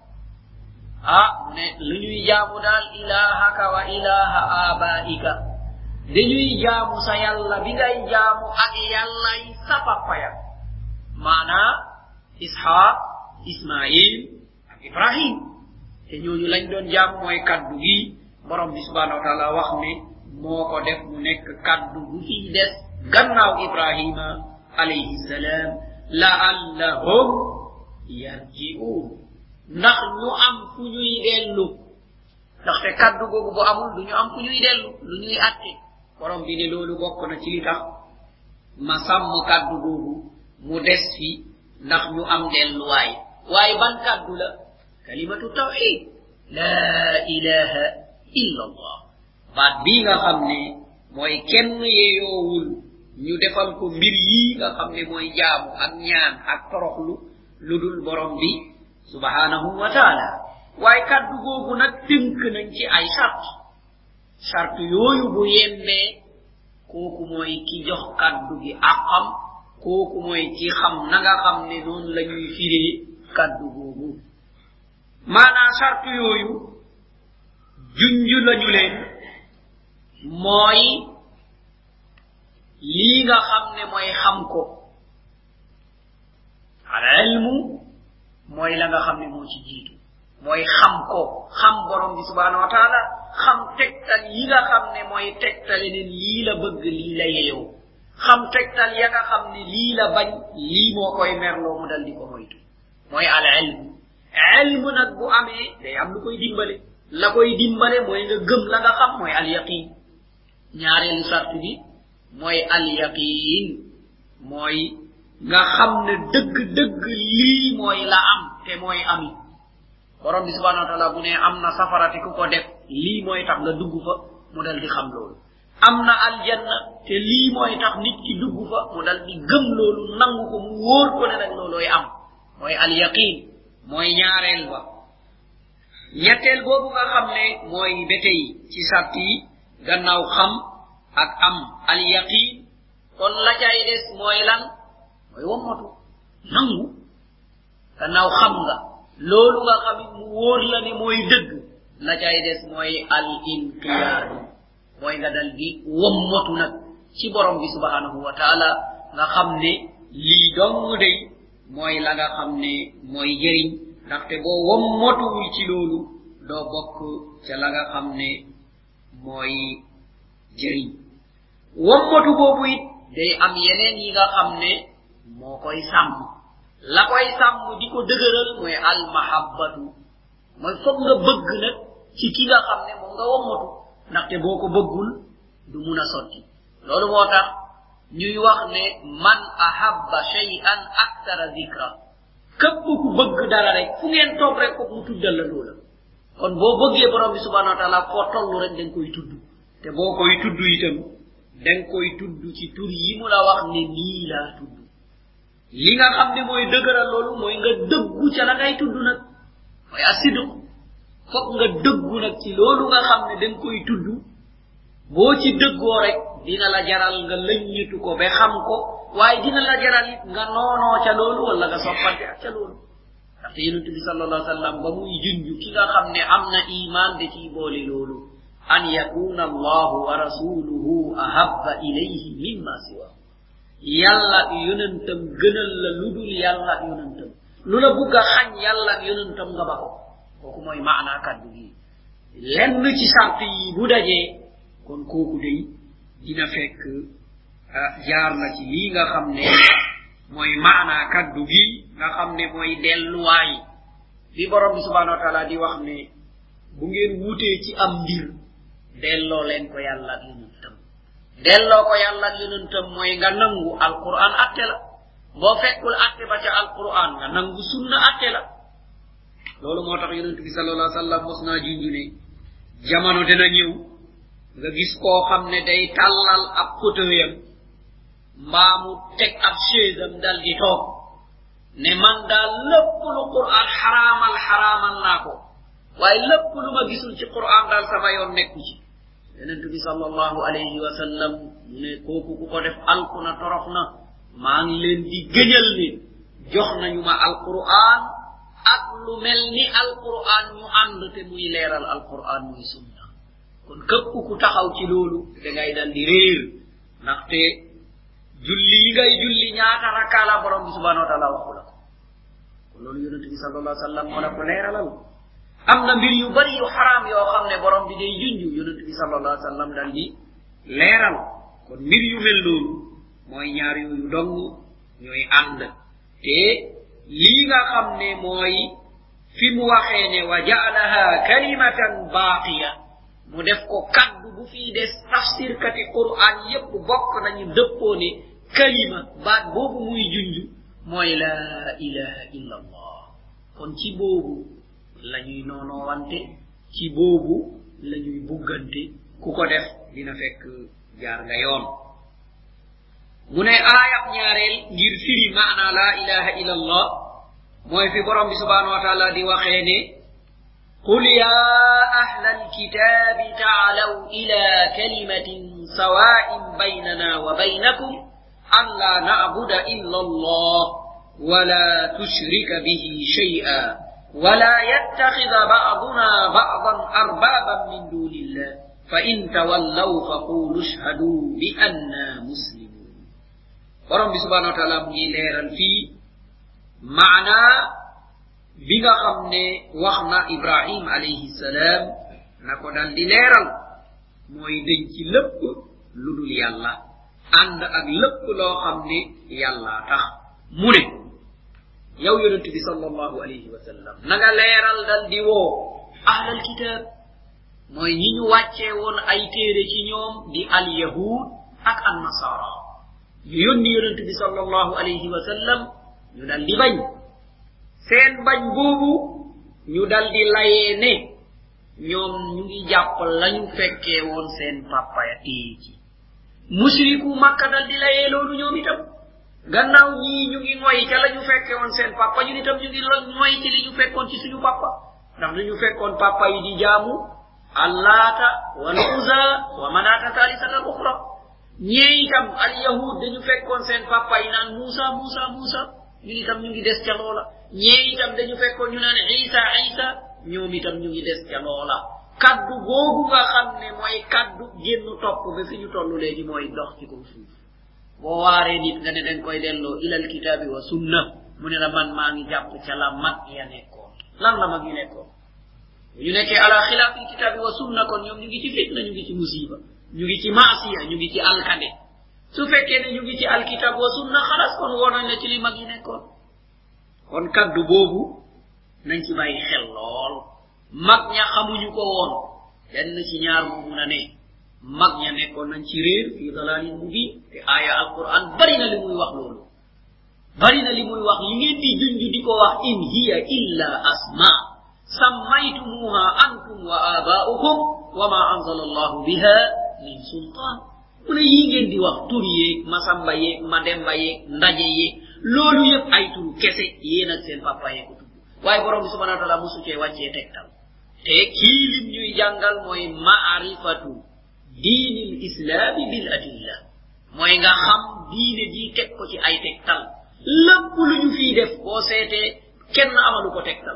mu ne lu ñuy jaamu dal ilahaka wa ilaha abaika dañuy jaamu sa yalla bi ngay jaamu ak yalla yi sa papa ya mana ishaq ismail ak ibrahim te ñooñu lañ doon jaamu moy kaddu gi borom bi subhanahu wa ta'ala wax ne moko def mu nek kaddu bu fi dess gannaaw ibrahima alayhi salam la'allahum yarji'un ndax ñu am fu ñuy delu ndax te kaddu gogu bu amul duñu am fu ñuy delu lu ñuy atté borom bi ne lolu bokk na ci li tax ma sam kaddu gogu mu dess fi ndax ñu am delu way ban kaddu la kalimatu tawhid la ilaha illa allah baat bi nga xamne moy kenn yeyoowul ñu defal ko mbir yi nga xamne moy jaamu ak ñaan ak toroxlu ludul borom bi subhanahu wa ta'ala way kaddu gogu nak tink nañ ci ay shart yoyu bu yembe koku moy ki jox kaddu gi akam koku moy ki xam na nga xamne non lañuy firé kaddu gogu mana shart yoyu junju lañu leen moy li nga xamne moy xam ko al ilmu moy la nga xamne mo ci jitu moy xam ko xam borom bi subhanahu wa ta'ala xam tektal yi nga xamne moy tektal ne li la bëgg li la yeyo xam tektal ya nga xamne li la bañ li mo koy merlo mu dal di ko moytu moy al ilmu nak bu amé day am lu koy dimbalé la koy dimbalé moy nga gëm la nga xam moy al yaqin ñaarelu sart bi moy al yaqin moy nga xamne deug deug li moy la am te moy ami borom bi subhanahu wa ta'ala bu ne amna safarati ku ko def li moy tax nga dugg fa mu dal di xam lolu amna al janna te li moy tax nit ki dugg fa mu dal di gëm lolu nangu ko mu wor ko ne nak loloy am moy al yaqin moy ñaarel ba ñettel bobu nga xamne moy betey ci sarti gannaaw xam ak am al yaqin kon la cay des moy lan moy womatu nangu gannaaw xam nga lolu nga xamit mu wor la ne moy deug la cay des moy al inqiyad moy nga dal di womatu nak ci borom bi subhanahu wa ta'ala nga xamne li dong day moy la nga xamne moy jeriñ ndax te bo womatu ci lolu do bokk ci la nga xamne moy jeriñ womatu bobu it day am yeneen yi nga xamne mo koy sam la koy sam diko degeural moy al mahabbatu moy fokk nga bëgg nak ci ki nga xamne mo nga womatu ndax te boko bëggul du mëna sotti lolu motax ñuy wax ne man ahabba shay'an akthara dhikra kep ku bëgg dara rek fu ngeen tok rek ko mu tuddal la lolu kon bo bëggee borom bi subhanahu wa ta'ala fo tollu rek dañ koy tuddu te bokoy tuddu itam dañ koy tuddu ci tur yi mu la wax ne ni la tuddu li nga xamne moy deugural lolu moy nga deggu ci la ngay tuddu nak moy asidu fokk nga deggu nak ci lolu nga xamne dañ koy tuddu bo ci deggo rek dina la jaral nga leññitu ko be xam ko waye dina la jaral it nga nono ca lolu wala nga soppante ca lolu ndax yonent bi sallallahu alayhi wasallam ba muy junju ki nga xamne amna iman de ci boole lolu an yakuna Allah wa rasuluhu ahabba ilayhi mimma siwa yalla yonentam gënal la ludul yalla yonentam lula bugga xagn yalla yonentam nga bako koku moy maana kaddu gi lenn ci sart yi bu dajé kon koku dey dina fekk jaar na ci li nga xamne moy maana kaddu gi nga xamne moy delluwaay bi borom bi subhanahu wa ta'ala di wax ne bu ngeen wuté ci am mbir delloo leen ko yàlla ak yonentam delloo ko yàlla ak yonentam mooy nga nangu alquran atte la boo fekkul atte ba ca alquran nga nangu sunna atte la loolu moo tax yonent bi sallallahu alayhi wasallam mos naa junju ne jamono dina ñëw nga gis koo xam ne day tàllal ab fauteuilam mbaa mu teg ab chaisam dal di toog ne man daal lépp lu quran xaraamal naa ko waaye lépp lu ma gisul ci quran daal sama yoon nekku ci yonent bi sallallahu alayhi wa sallam mu ne kooku ku ko def alkuna torox na maa ngi leen di gëñal ni jox nañu ma alquran ak lu mel ni alquran ñu ànd te muy leeral alquran muy sunna kon képp ku taxaw ci loolu da ngay dal di réer ndaxte julli yi ngay julli ñaata rakka la borom bi subhanahu wa ta'ala waxu la ko kon loolu yonent bi sallallahu alayhi wa sallam moo la ko leeralal am na mbir yu bari yu haram yoo xam ne borom bi day junju yonent bi sallallahu alayhi wa sallam dal di leeral kon mbir yu mel noonu mooy ñaar yooyu dong ñooy ànd te lii nga xam ne mooy fi mu waxee ne wa ja'alaha kalimatan baqiya mu def ko kaddu bu fii des tafsir kati qur'an yépp bokk nañu dëppoo ne kalima baat boobu muy junju mooy la ilaha illa allah kon ci boobu lañuy noonoowante ci boobu lañuy buggante ku ko def dina fekk jaar nga yoon mu ne aayab ñaareel ngir firi maana la ilaha illa allah mooy fi borom bi subhanahu wa ta'ala di waxee ne قل يا أهل الكتاب تعالوا إلى كلمة سواء بيننا وبينكم أن لا نعبد إلا الله ولا تشرك به شيئا ولا يتخذ بعضنا بعضا أربابا من دون الله فإن تولوا فقولوا اشهدوا بأننا مسلمون ورب سبحانه وتعالى مجيلير في معنى bi nga xam ne wax na ibrahim alayhi salam na ko dal di leeral mooy dañ ci lépp lu dul yàlla ànd ak lépp loo xam ne yàlla tax mu ne yow yonent bi sallallahu alayhi wa sallam na nga leeral dal di woo ahlal kitab mooy ñi ñu wàccee woon ay téere ci ñoom di al yahud ak an nasara ñu yónni yonent bi sallallahu alayhi wa sallam ñu dal di bañ seen bañ boobu ñu dal di layee ne ñoom ñu ngi jàpp lañu fekkee woon seen papa ya téye ci mushriku makka dal di layee loolu ñoom itam gannaaw ñii ñu ngi ngoy ca lañu fekkee woon seen papa ñun itam ñu ngi ngoy ci li ñu fekkoon ci suñu papa ndax dañu fekkoon papa yi di jaamu allata wal uzza wa manata thalithata al ukhra ñee itam al yahud dañu fekkoon seen papa yi naan musa ñun itam ñu ngi des ca loola ñee itam dañu fekkoon ñu naan isa ñoom itam ñu ngi des ca loola kaddu googu nga xam ne mooy kaddu génn topp ba fi ñu toll léegi mooy dox ci kaw suuf boo waaree nit nga ne dañ koy delloo ilal kitaabi wa sunna mu ne la man maa ngi jàpp ca la mag ya nekkoon lan la mag yi nekkoon ñu nekkee ala xilaafil kitaabi wa sunna kon ñoom ñu ngi ci fitna ñu ngi ci musiba ñu ngi ci maasiya ñu ngi ci alkade su fekkee ne ñu ngi ci alkitab wa sunna xalas kon woo nañ la ci li mag yi nekkoon kon kaddu boobu nañ ci bàyyi xel lool mag ña xamuñu ko woon benn ci ñaar mu mun a ne mag ña nekkoon nañ ci réer fi dalalin mubin te aaya alquran bari na li muy wax loolu bari na li muy wax li ngeen di junju di ko wax in hiya illa asma sammaytumuha antum wa aba'ukum wa ma anzala allahu biha min sultan mu ne yii ngeen di wax tur yeeg masamba yeeg mademba yeeg ndaje yeeg loolu yëpp ay turu kese yéen ak seen papa yeeg ko tudd waaye borom bi subhanahu wa ta'ala musu cee wàccee tegtal te kii lim ñuy jàngal mooy ma'rifatu diinil islami bil adilla mooy nga xam diine ji teg ko ci ay tegtal lépp lu ñu fii def boo seetee kenn amalu ko tegtal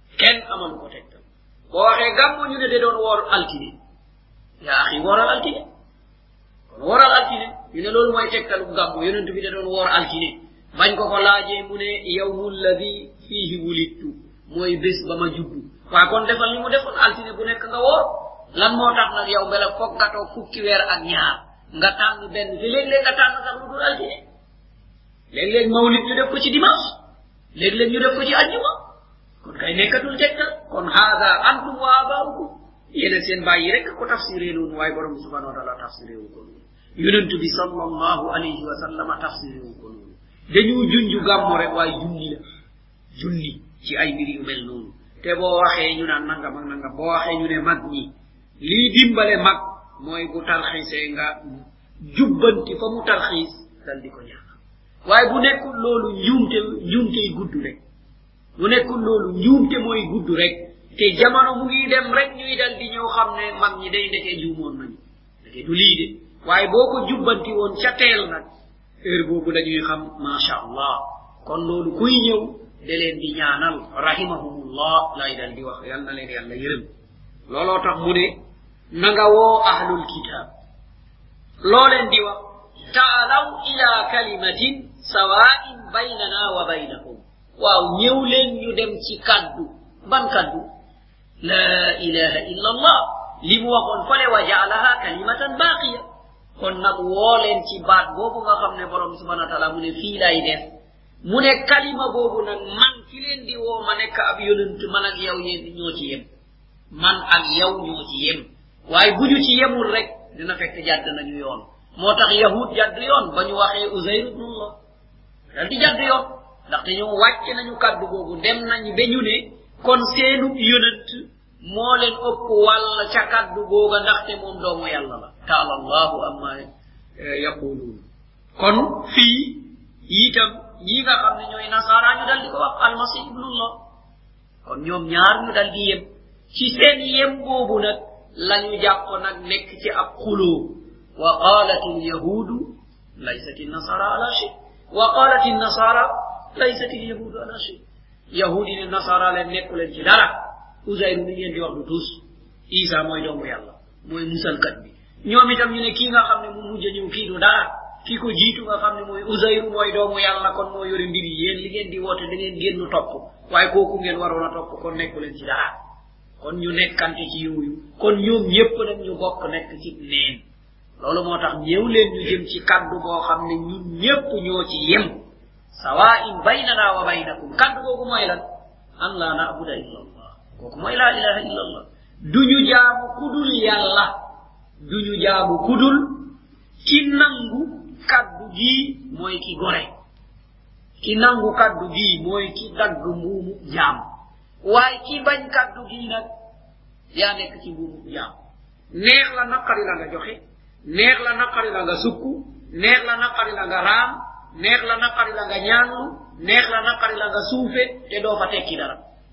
boo waxee gàmmu ñu ne de doon woor altine yaa axi wooral altine woral altine ñu ne loolu mooy tegtalu gàmmu yonent bi da doon woor altine bañ ko ko laajee mu ne yawmul ladhi fihi wulidtu mooy bés ba ma juddu waa kon defal ni mu defoon altine bu nekk nga woor lan moo tax nag yow bela foog nga toog fukki weer ak ñaar nga tànn benn te léeg-léeg nga tànn sax lu dul altine leg leg mawlid ñu def ko ci dimanche leg leg ñu def ko ci aljuma kon kay nekkatul tegtal kon hada antum wa abaukum yene seen bayyi rek ko tafsiré non way borom subhanahu wa ta'ala tafsiré wu ko yonent bi sallallahu alayhi wa sallam tafsiré wu ko dañu junju gammo rek way junni la junni ci ay mbir yu mel non te bo waxe ñu naan nangam ak nangam bo waxe ñu ne mag ñi li dimbale mag moy bu tarxise nga jubbanti fa mu tarxis dal di ko ñaan waye bu nekkul lolu njumte guddu rek bu nekkul lolu njumte moy guddu rek te jamono mu ngi dem rek ñuy dal di ñew xamne mag ñi day ndeke juumon nañu ndeke du li de waye boko jubbanti won ca tel nak heure bobu dañuy xam ma sha Allah kon lolu kuy ñew de len di ñaanal rahimahumullah lay dal di wax yalla len yalla yërem lolo tax mu ne na nga wo ahlul kitab lo len di wax ta'alu ila kalimatin sawa'in baynana wa baynakum waaw ñew len ñu dem ci kaddu ban kaddu la ilaha illa Allah limu waxon fale wa ja'alaha kalimatan baqiya kon nak wo len ci baat bobu nga xamne borom subhanahu wa ta'ala mu ne fi lay def mu ne kalima bobu nak man fi len di wo ma nek ab yonent man ak yow yeen ñoo ci yem man ak yow ñoo ci yem waye buñu ci yemul rek dina fekk jadd nañu yoon motax yahud jadd yoon bañu waxe uzair ibn Allah dal di jadd yoon ndax te ñoo wacc nañu kaddu bobu dem nañu beñu ne kon seenu yonent mo len upp wala ca kaddu goga ndax te mom doomu yalla la ta'ala Allah amma yaqulun kon fi yitam ñi nga xamne ñoy nasara ñu dal di ko wax al-masih ibn Allah kon ñom ñaar ñu dal di yem ci seen yem bobu nak lañu japp nak nek ci ab khulu wa qalat al-yahud laysat an-nasara ala shay wa qalat an-nasara laysat al-yahud ala shay yahudi ni nasara len nekku len ci dara uzayr mi ngeen di wax du tus isa moy doomu yalla moy musal kat bi ñoom itam ñu ne ki nga xamne mu mujj ñu ki du dara ki ko jitu nga xamne moy uzayr moy doomu yalla kon moy yori mbiri yeen li ngeen di wote da ngeen gennu top waye koku ngeen warona top kon nekku len ci dara kon ñu nekkante ci yoyu kon ñoom ñepp nak ñu bokk nekk ci neen lolu motax ñew leen ñu jëm ci kaddu bo xamne ñun ñepp ñoo ci yem sawa'in baynana wa baynakum kaddu gogu moy lan an la na'budu illa Allah koku moy la ilaha illa Allah duñu jaamu kudul yalla duñu jaamu kudul ci nangu kaddu gi moy ki gore ki nangu kaddu gi moy ki dag muumu jaam way ki bañ kaddu gi nak ya nek ci muumu jaam neex la nakari la nga joxe neex la nakari la nga sukku neex la nakari la nga ram neex la nakari la nga ñaanu neex la nakari la nga suufé te do fa tekki dara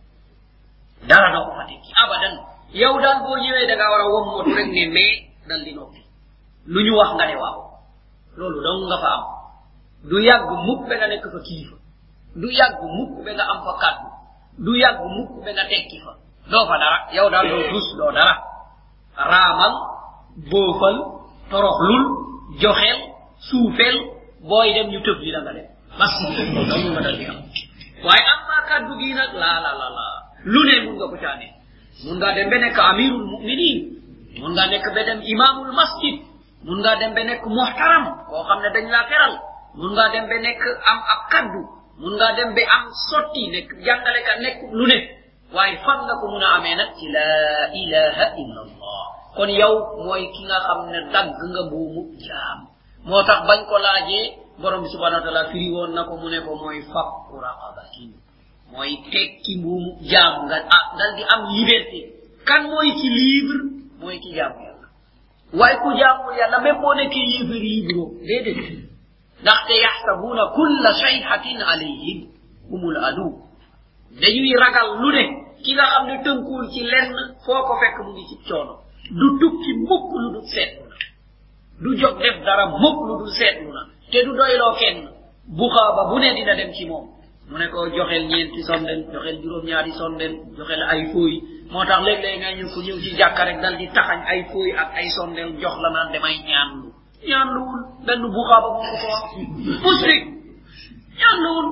do fa tekki abadan yow dal bo ñewé da nga wara wom motu rek ne me dal di noppi luñu wax nga ne waaw lolu dong nga fa am du yag mukk be nga nek fa kifa du yag mukk be nga am fa kaddu du yag mukk be nga tekki fa do fa dara yow dal do dus do dara ramal bofal toroxlul joxel suufel boy dem ñu teub li la nga def bas dong nga dal di am waye am ma kaddu gi nak la lu ne mun nga ko caane mun nga dem be nek amirul mu'minin mun nga nek be dem imamul masjid mun nga dem be nek muhtaram ko xamne dañ la teral mun nga dem be nek am ab kaddu mun nga dem be am sotti nek jangale ka nek lu ne waye fan nga ko muna amé nak ci la ilaha illa Allah kon yow moy ki nga xamne dag nga buumu jaam motax bañ ko laaje borom subhanahu wa ta'ala firi won nako mu ne ko moy fakku raqabatin moy tekki buumu jaam nga dal di am liberté kan moy ki libre moy ki jaam yalla way ku jaamu yalla même bo nekk yéfer libre dédé ndax te yahsabuna kull shay'atin alayhim humul adu dañuy ragal lu ne ki nga xamne teungul ci lenn foko fekk mu ngi ci coono du tukki mukk lu du setuna du jog def dara mukk lu du setuna te du doylo kenn bu xaba bu ne dina dem ci mom mu ne ko joxel ñenti sondel joxel juroom ñaari sondel joxel ay fooy motax leg leg nga ñu ko ñew ci jakka rek dal di taxañ ay fooy ak ay sondel jox la naan demay ñaanluul benn bu xaba mo ko wax musrik ñaanluul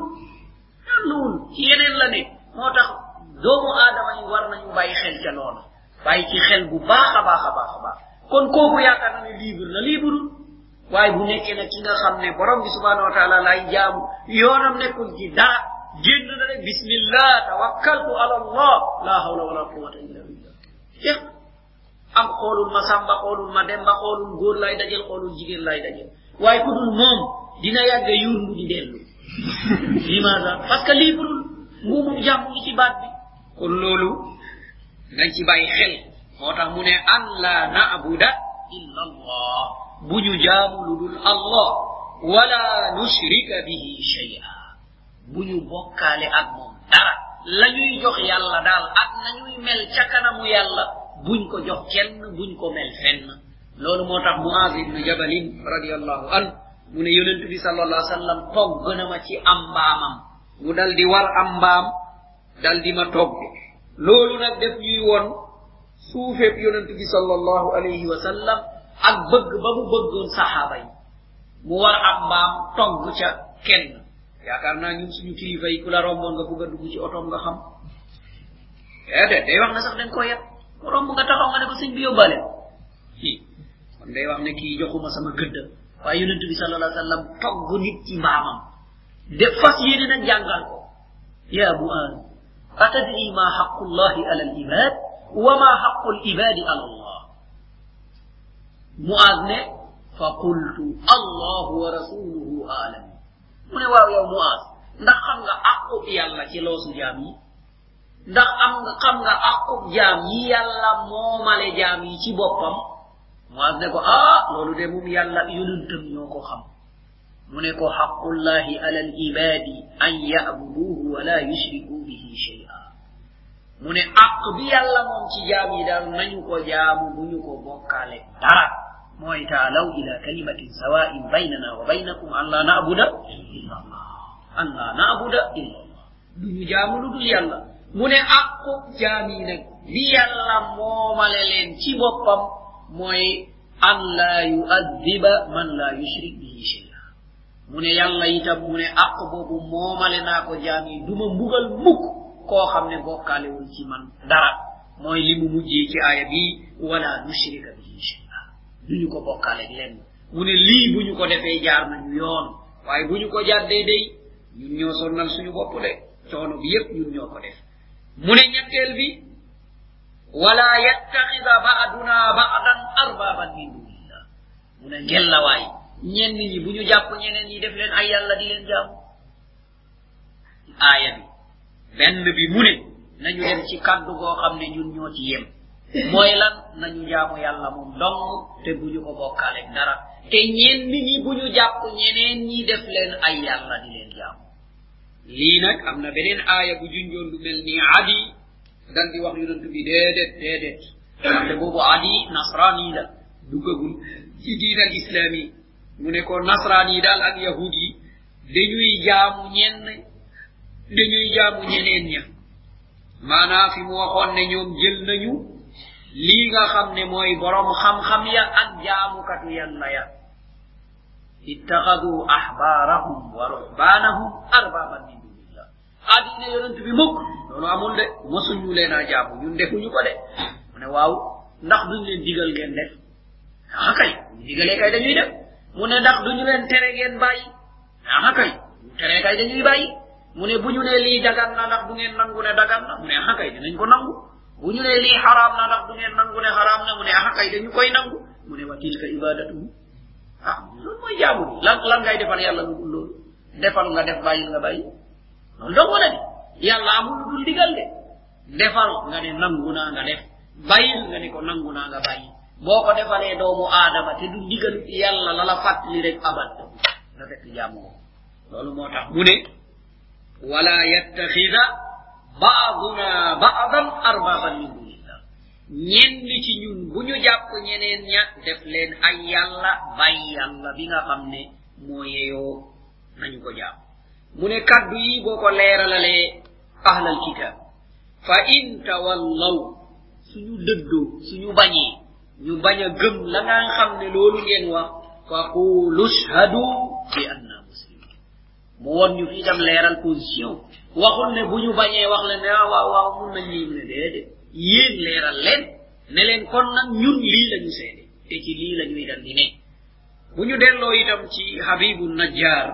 ci yeneen la ne motax doomu adama yi war nañu bayyi xel ca loolu bayyi ci xel bu baaxa baaxa baaxa baax kon koku yaakaar na libre waaye bu nekkee nag ki nga xam ne borom bi subhanahu wa taala lay jaamu yoonam nekkul ci dara génn na rek bismillah tawakkaltu ala allah la hawla wala quwwata illa billah jeex am xoolul ma samba xoolul ma demba xoolul góor lay dajel xoolul jigéen lay dajel waaye ku dul moom dina yàgg yurlu di dellu limaza parce que lii budul nguumum jàmm ngi ci baat bi kon loolu nañ ci bàyyi xel moo tax mu ne an la na'buda illa allah bu ñu jaamu lu dul allah wala nushrika bihi shay'a bu ñu bokkaale ak moom dara la ñuy jox yàlla daal ak nañuy mel ca kanamu yàlla buñ ko jox kenn buñ ko mel fenn loolu moo tax Muaz ibn Jabalin radiyallahu an mu ne yonent bi sallallahu alayhi wasallam togg na ma ci am mbaamam mu dal di war am mbaam dal di ma togg loolu nag def ñuy woon suufeeb yonent bi sallallahu alayhi wasallam ak bëgg ba mu bëggoon saxaaba yi mu war am mbaam togg ca kenn yaakaar naa ñun suñu kilifa yi ku la romboon nga bëgg a dugg ci otoom nga xam day wax na sax dañ ko yet ko romb nga taxaw nga ne ko sëñ bi yóbbaale kon day wax ne kii joxuma sama gëdd waaye yonent bi sallallahu alayhi wasallam togg nit ci mbaamam de fas yéene nag jàngal ko ya Muaz atadri ma haqqullahi ala al-ibad wa ma haqqul ibadi ala Allah Muaz ne fa qultu Allah wa rasuluhu a'lam mu ne waaw yow Muaz ndax xam nga aqu yàlla ci loosu jaam yi ndax xam nga aqu jaam yi yàlla moomale jaam yi ci boppam Muaz ne ko loolu de moom yàlla yonentam ñoo ko xam mu ne ko haqqullahi ala al-ibadi an ya'buduhu wa la yushriku bihi shay'a mu ne aq bi yàlla moom ci jaam yi daal nañu ko jaamu bu ñu ko bokkaale dara mooy taalaw ila kalimatin sawa'in baynana wa baynakum an la na'buda illa allah an la na'buda illa allah duñu jaamu lu dul yàlla mu ne aqu jaam yi nag bi yàlla moomale leen ci boppam mooy an la yu'adhiba man la yushrik bihi shay'a mu ne yàlla itam mu ne aq boobu moomale naa ko jaam yi duma mbugal mukk koo xam ne bokkaalewul ci man dara mooy li mu mujjee ci aaya bi wala nushrika bihi shay'a duñu ko bokkaale lenn mu ne lii bu ñu ko defee jaar nañu yoon waaye bu ñu ko jàddee day ñun ñoo sonnal suñu bopp de coono bi yépp ñun ñoo ko def mu ne ñetteel bi wala yattakhidha ba'duna ba'dan arbaban min dunillah mu ne ngellawaay ñenn ñi bu ñu jàpp ñeneen ñi def leen ay yàlla di leen jaamu aaya bi benn bi mu ne nañu dem ci kaddu goo xam ne ñun ñoo ci yem mooy lan nañu jaamu yàlla moom dong te bu ñu ko bokkaale dara te ñenn ñi bu ñu jàpp ñeneen ñi def leen ay yàlla di leen jaamu lii nag am na beneen aaya bu junjoon lu mel ni adi dal di wax yonent bi déedéet ndaxte boobu adi nasrani la duggagul ci diinal islami mu ne ko nasrani daal ak yahud yi dañuy jaamu ñeneen ña maanaa fi mu waxoon ne ñoom jël nañu lii nga xam ne mooy borom xam-xam ya ak jaamukatu yàlla ya ittakhadhu ahbarahum wa ruhbanahum arbaban min dunillah adina yonent bi mukk loolu amul de mosuñu leen a jaamu ñun defuñu ko de mu ne waaw ndax duñ leen digal ngeen def kay ñu digalee kay dañuy def mu ne ndax duñu leen tere ngeen bàyyi kay tere kay dañuy bàyyi mu ne bu ñu ne lii dagan na ndax du ngeen nangu ne dagan na mu ne kay dinañ ko nangu bu ñu ne lii haram na ndax du ngeen nangu ne haram na mu ne kay dañu koy nangu mu ne wa tilka ibadatu loolu mooy jaamu bi lan ngay defal yàlla lu dul loolu defal nga def bàyyil nga bàyyi loolu dong la de yàlla amul lu dul digal de defal nga ne nangu naa nga def bàyyil nga ne ko nangu naa nga bàyyi boo ko defalee doomu aadama te du digal yàlla la la fàttali rek abad nga fekk jaamu ko loolu moo tax mu ne wala yattakhidha ba'duna ba'dan arbaban min dunillah ñenn ci ñun bu ñu jàpp ñeneen ña def leen ay yàlla bàyyi yàlla bi nga xam ne moo yeyoo nañu ko jàpp mu ne kaddu yi boo ko leeralalee ahlal kitab fa in tawallaw suñu dëddoo suñu bañee ñu bañ a gëm la nga xam ne loolu ngeen wax fa qulu shhadu bi anna muslimun mu won ñu fi tam leeral position waxul ne bu ñu bañee wax leen ne waaw mun nañ lii mu ne déedéet yéen leeral leen ne leen kon nag ñun lii lañu seede te ci lii la ñuy dal di ne buñu dello itam ci habibun najjar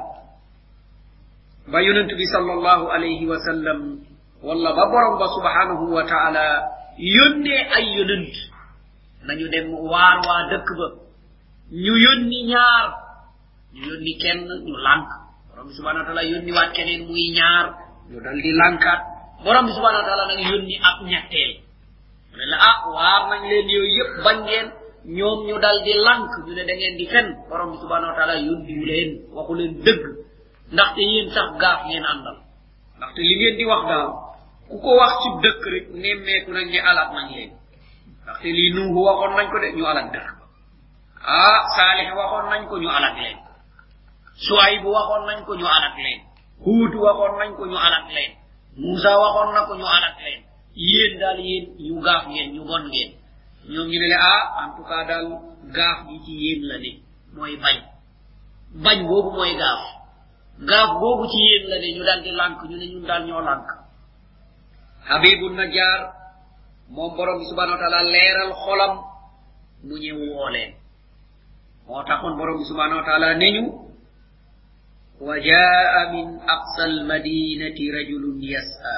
ba yonent bi sallallahu alayhi wa sallam walla ba borom ba subhanahu wa ta'ala yonne ay yonent nañu dem waar waa dëkk ba ñu yonni ñaar ñu yonni kenn ñu lank borom bi subhanahu wa ta'ala yonni waat keneen muy ñaar ñu dal di lankat borom bi subhanahu wa ta'ala nag yonni ak ñettel la waar nañ leen yoy yépp bañ ngeen ñoom ñu dal di lank ñu ne da ngeen di fen borom bi subhanahu wa ta'ala yonni leen waxu leen dëgg ndaxte yéen sax gaaf ngeen àndal ndaxte li ngeen di wax daal ku ko wax ci dëkk rek nemmeeku nañ ne alat nañ leen ndaxte lii nuuhu waxoon nañ ko de ñu alat dëkk saalih waxoon nañ ko ñu alat leen suayb waxoon nañ ko ñu alat leen huud waxoon nañ ko ñu alat leen musa waxoon na ko ñu alat leen yéen daal yéen ñu gaaf ngeen ñu bon ngeen ñoom ñu ne le en tout cas daal gaaf gi ci yéen la ne mooy bañ boobu mooy gaaf boobu ci yéen la ne ñu dal di lànk ñu ne ñun daal ñoo lànk habibun najjar moom borom bi subhanahu wa ta'ala leeral xolam mu ñëw woo leen moo taxoon borom bi subhanahu wa ta'ala neñu wa jaa min aqsa almadinati rajulun yas'a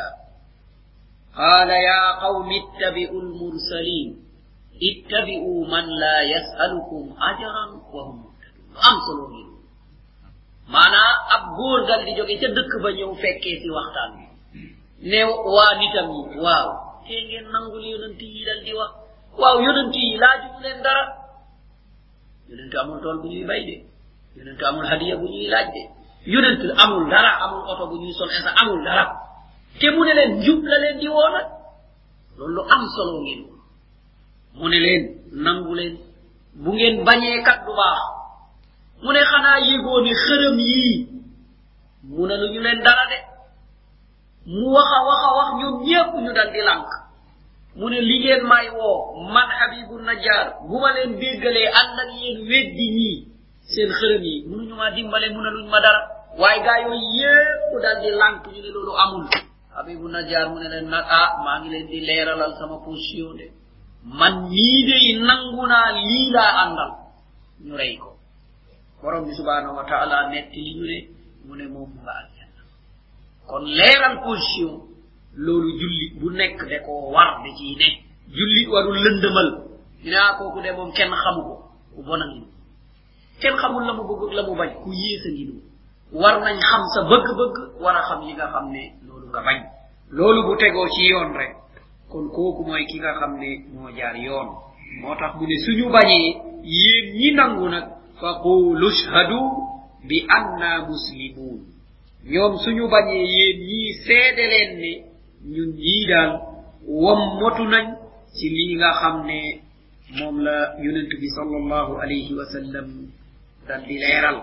qala ya qawmi ittabi'u almursalin ittabi'u man la yas'alukum ajran wa hum muhtadun am solo ngi mana ab góor dal di jóge ca dëkk ba ñëw fekkee ci waxtaan bi ne waa nitam yi waaw te ngeen nangul yonent yi dal di wax waaw yonent yi laaju leen dara yonent amul tool bu ñuy bay de yonent amul hadiya bu ñuy laaj de yonent amul dara amul oto bu ñuy sol esa amul dara te mu ne leen njub la leen di woo nag loolu am solo ngeen mu ne leen nangu leen bu ngeen bañee kat du baax mu ne xanaa yégoo ni xërëm yii mu ne lu ñu leen dara de mu wax ñoom ñépp ñu dal di lànk mu ne li ngeen may woo man habibun najjar bu ma leen déggalee ànd ak yéen weddi ñii seen xërëm yi mënuñu maa dimbale mu ne luñ ma dara waaye gaa yooyu yépp dal di lànk ñu ne loolu amul habibun najjar mu ne leen nag maa ngi leen di leeralal sama position de man nii de nangu naa lii laa àndal ñu rey ko borom bi subhanahu wa ta'ala netti li ñu ne mu ne moom nga aljanna kon leeral position loolu jullit bu nekk de ko war de ci ne jullit warul lëndëmal dina kooku de moom kenn xamu ko ku bona ngi kenn xamul la mu bëgg la mu bañ ku yéesa ngi du war nañ xam sa bëgg-bëgg war a xam li nga xam ne loolu nga bañ loolu bu tegoo ci yoon rek kon kooku mooy ki nga xam ne moo jaar yoon moo tax mu ne suñu bañee yéen ñi nangu nag faqulu shhadu bi anna muslimun ñoom suñu bañee yéen ñii seede leen ne ñun ñii daal wammotu nañ ci lii nga xam ne moom la yonent bi sallallahu alayhi wa sallam dal di leeral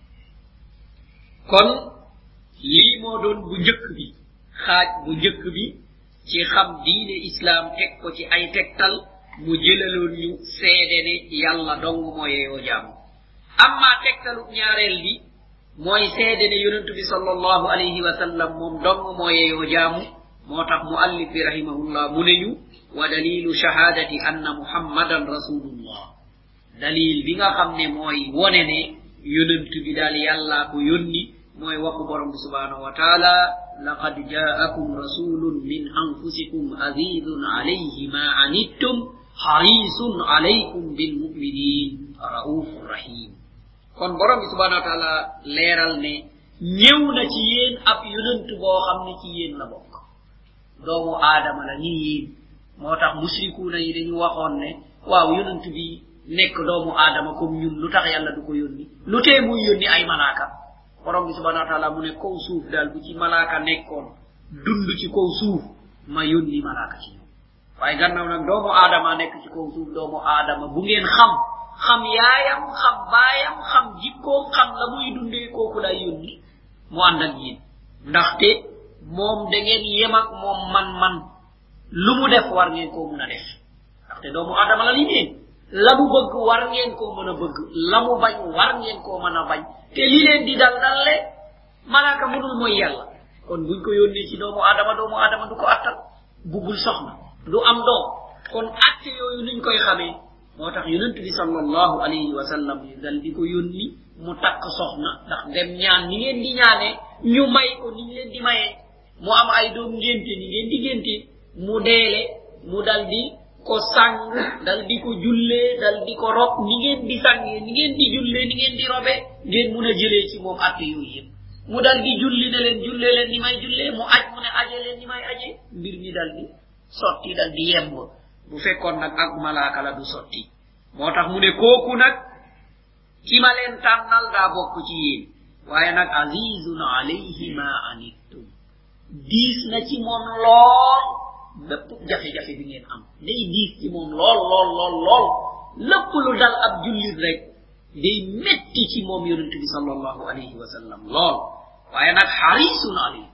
kon lii moo doon bu njëkk bi xaaj bu njëkk bi ci xam diine islam teg ko ci ay tegtal mu jëlaloon ñu seede ne yàlla dong moo yeeyoo jaamu amma tegtalu ñaareel bi mooy seede ne yonent bi sallallahu alayhi wa sallam moom dong moo yeeyoo jaamu moo tax muallif bi rahimahullah mu ne ñu wa dalilu shahadati anna muhammadan rasulullah dalil bi nga xam ne mooy wone ne yonent bi daal yàlla ko yónni mooy waxu borom bi subhanahu wa taala laqad jaakum rasulun min anfusikum azizun alayhi ma anittum harisun alaykum bil mu'minin raufur rahim kon borom bi subhanahu wa taala leeral ne ñëw na ci yéen ab yonent boo xam ne ci yéen la bokk doomu aadama la ni yéen moo tax musrikuuna yi dañu waxoon ne waaw yonent bi nekk doomu aadama comme ñun lu tax yàlla du ko yónni lu tee muy yónni ay malaaka borom bi subhanahu wa taala mu ne kaw suuf daal bu ci malaaka nekkoon dund ci kaw suuf ma yónni malaaka ci ñoom waaye gannaaw nag doomu aadama nekk ci kaw suuf doomu aadama bu ngeen xam yaayam xam baayam xam jikkoom xam la muy dundee kooku lay yónni mu ànd ak yéen ndaxte moom da ngeen yem ak moom man lu mu def war ngeen koo mën a def ndaxte doomu aadama la li ngeen la mu bëgg war ngeen koo mën a bëgg la mu bañ war ngeen koo mën a bañ te li leen di dal dalle malaaka mënul mooy yàlla kon buñ ko yónnee ci doomu aadama du ko attal buggul soxna du am doom kon atte yooyu nuñ koy xamee motax yonent bi sallallahu alayhi wa sallam dal di ko yonni mu tak soxna ndax dem ñaan ni ngeen di ñaané ñu may ko ni ngeen di mayé mu am ay doom ngenté ni ngeen di genté mu délé mu daldi ko sang daldi ko julle daldi ko rob ni ngeen di sangé ni ngeen di julle ni ngeen di robé ngeen mëna jëlé ci mom atté yoy yépp mu daldi julli ne len julle len ni may julle mu aj mu ne ajé len ni may ajé mbir mi daldi sotti daldi yemb bu fekkon nak ak malaka la du sotti motax mu ne koku nak ki ma len tanal da bokku ci yeen waye nak azizun alayhi ma anittum dis na ci mom lool bepp jafé jafé bi ngeen am day dis ci mom lool lepp lu dal ab julit rek day metti ci mom yonent bi sallallahu alayhi wa sallam lool waye nak harisun alayhi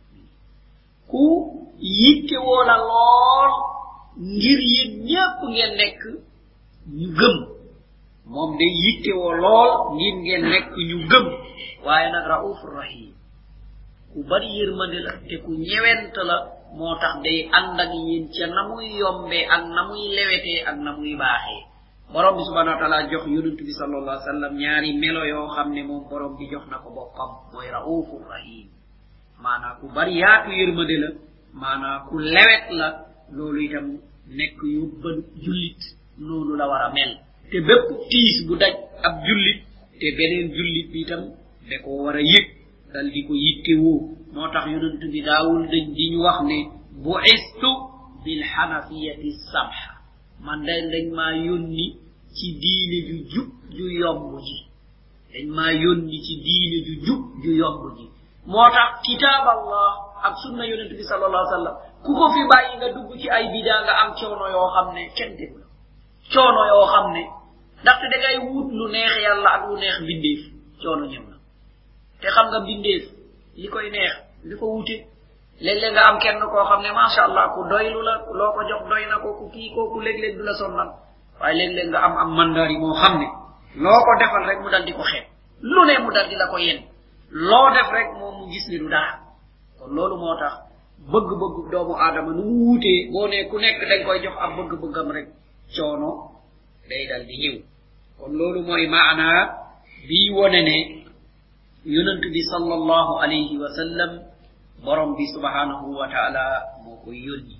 ku yitte wala lool ngir yeen ñepp ngeen nek ñu gëm mom day yitte wo lool ngir ngeen nek ñu gëm waye nak raufur rahim ku bari yermande la te ku ñewent la motax day and ak yeen ci namuy yombe ak namuy lewete ak namuy baaxé borom bi subhanahu wa ta'ala jox yonent bi sallallahu alayhi wasallam ñaari melo yo xamne mom borom bi jox nako boppam moy raufur rahim mana ku bari yaatu yermande la mana ku lewet la lolu itam nek yu ban julit nonu la wara mel te bepp tiis bu daj ab julit te benen julit bi itam de ko wara yek dal di ko yittewu motax yonent bi daawul dañ di ñu wax ne bu'istu bil hanafiyati samha man dañ ma yonni ci diine ju jub ju yomb ji dañ ma yonni ci diine ju jub ju yomb ji motax kitab Allah ak sunna yonent bi sallallahu alayhi wasallam ku ko fi bayyi nga dugg ci ay bida nga am coono yo xamne kenn tegul coono yo xamne ndax da ngay wut lu neex yalla ak lu neex bindeef coono ñew na te xam nga bindeef li koy neex dafa wuté léeg nga am kenn ko xamne ma sha Allah ku doylu la loko jox doyna ko ku ki ko ku léeg du la sonnal waye léeg nga am mandari mo xamne loko defal rek mu dal di ko xet lu ne mu dal di la ko yeen lo def rek mom mu gis ni du dara kon lolu motax bëgg bëgg doomu adama nu wuté bo ne ku nekk dañ koy jox ab bëgg bëggam rek coono day dal di ñew kon lolu moy maana bi woné ne yonent bi sallallahu alayhi wa sallam borom bi subhanahu wa ta'ala moko yoni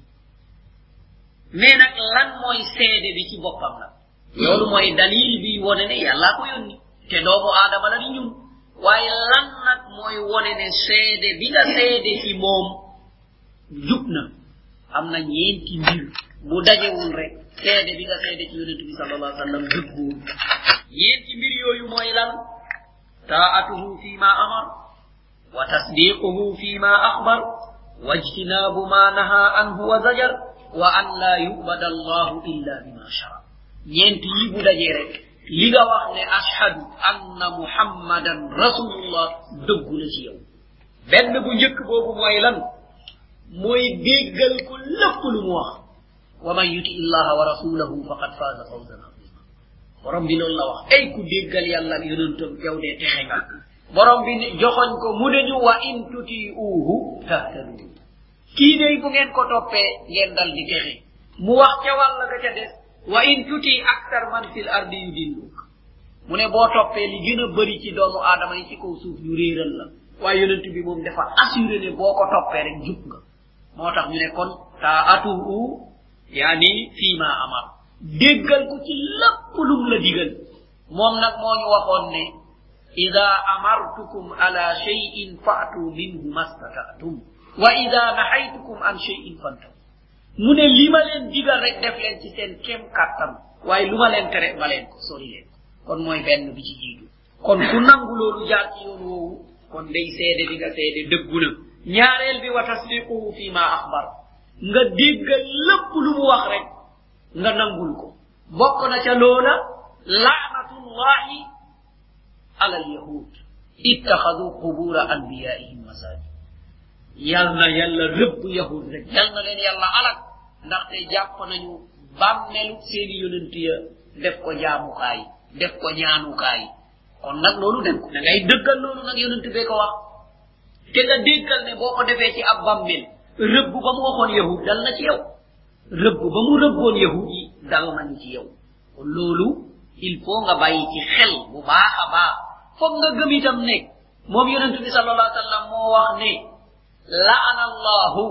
mais nak lan moy sédé bi ci bopam la lolu moy dalil bi woné ne yalla ko yoni té doomu adama la ni ñun waye lan nak moy woné ne sédé bi nga sédé ci mom jupna amna ñenti mbir bu dajewul rek sédé bi nga sédé ci yonent bi sallallahu alayhi wa sallam jubbu ñenti mbir yoyu moy lan ta'atuhu fima amar wa tasdiquhu fima akhbar wajtinabu ma naha anhu wa zajar wa an la yu'bada Allah illa bima shara ñent yi bu dajé rek li nga wax ne ashhadu anna muhammadan rasulullah deggu la ci yow benn bu ñëk bobu moy lan moy déggal ko lepp lu mu wax wa man yuti Allah wa rasulahu faqad faza fawzan azima borom bi lol la wax ay ku déggal yalla ak yonentam yow de texé nga borom bi joxoñ ko mu deñu wa in tuti'uhu tahtadu ki day bu ngeen ko topé ngeen dal di texé mu wax ca walla ga ca dess wa in tuti akthar man fil ardi yudilluk mu ne bo topé li gëna bari ci doomu adama yi ci kaw suuf ñu réeral la waaye yonent bi moom dafa assuré ne boko topé rek jub nga motax ñu ne kon ta'atuhu yani fima amar déggal ko ci lepp lu la digal mom nak moñu waxon ne idha amartukum ala shay'in fa'tu minhu mastata'tum wa idha nahaytukum an shay'in fantahu mune lima len digal rek def len ci sen kem katam waye luma len tere balen ko sori len kon moy benn bi ci jitu kon ku nangu lolu jaar ci yoon wowu kon day sédé diga sédé degguna ñaarel bi wa tasdiquhu fi ma akhbar nga déggal lepp lu mu wax rek nga nangul ko bokk na ca lola la'natullahi ala al-yahud ittakhadhu qubur anbiya'ihim masajid yalla repp yahud rek yalla len yalla alak ndax te japp nañu bammelu seeni yonent ya def ko jaamu kay def ko ñaanu kay kon nak lolu dem da ngay deggal lolu nak yonent be ko wax te nga deggal ne boko defé ci ab bammel rebb ba mu waxon yahud dal na ci yow rebb ba mu rebbon yahudi dal na ci yow loolu il faut nga bàyyi ci xel bu baax a baax foog nga gëm itam ne moom yonent bi sallallahu alayhi wa sallam moo wax ne la'ana allahu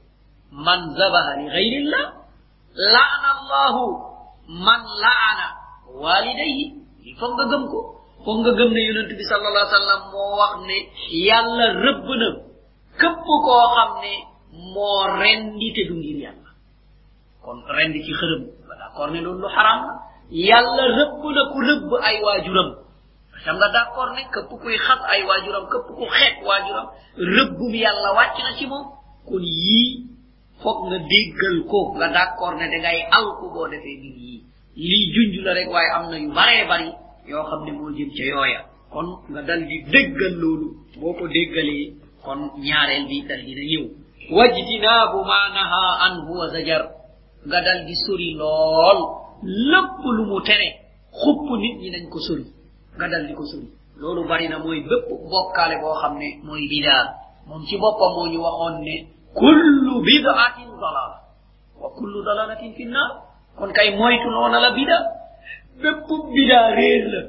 man zabaha li ghayrillah la'ana allahu man la'ana walidayhi il faut nga gëm ko foog nga gëm ne yonent bi sallallahu alayhi wa sallam moo wax ne yàlla rëbb na képp koo xam ne moo rendi te du ngir yàlla kon rendi ci xërëm d'accord ne loolu lu xaram la yàlla rëbb na ku rëbb ay waajuram xam nga d'accord ne képp kuy xas ay waajuram képp ku xeet waajuram rëbbum yàlla wàcc na ci moom kon yii foog nga déggal ko nga d'accord ne dangay alku boo defee mbir yii lii junj la rek waaye am na yu baree bari yoo xam ne moo jëm ca yooya kon nga dal di déggal loolu boo ko déggalee kon ñaareel bi dal dina ñëw wajtinaabu ma naha anhu wa zajar nga dal di sori lool lépp lu mu tere xupp nit ñi nañ ko sori nga dal di ko sori loolu bari na mooy bépp bokkaale boo xam ne mooy bidaa moom ci boppam moo ñu waxoon ne kullu bid'atin dalala wa kullu dalalatin fi nnar kon kay moytu noona la bida bépp bida réer la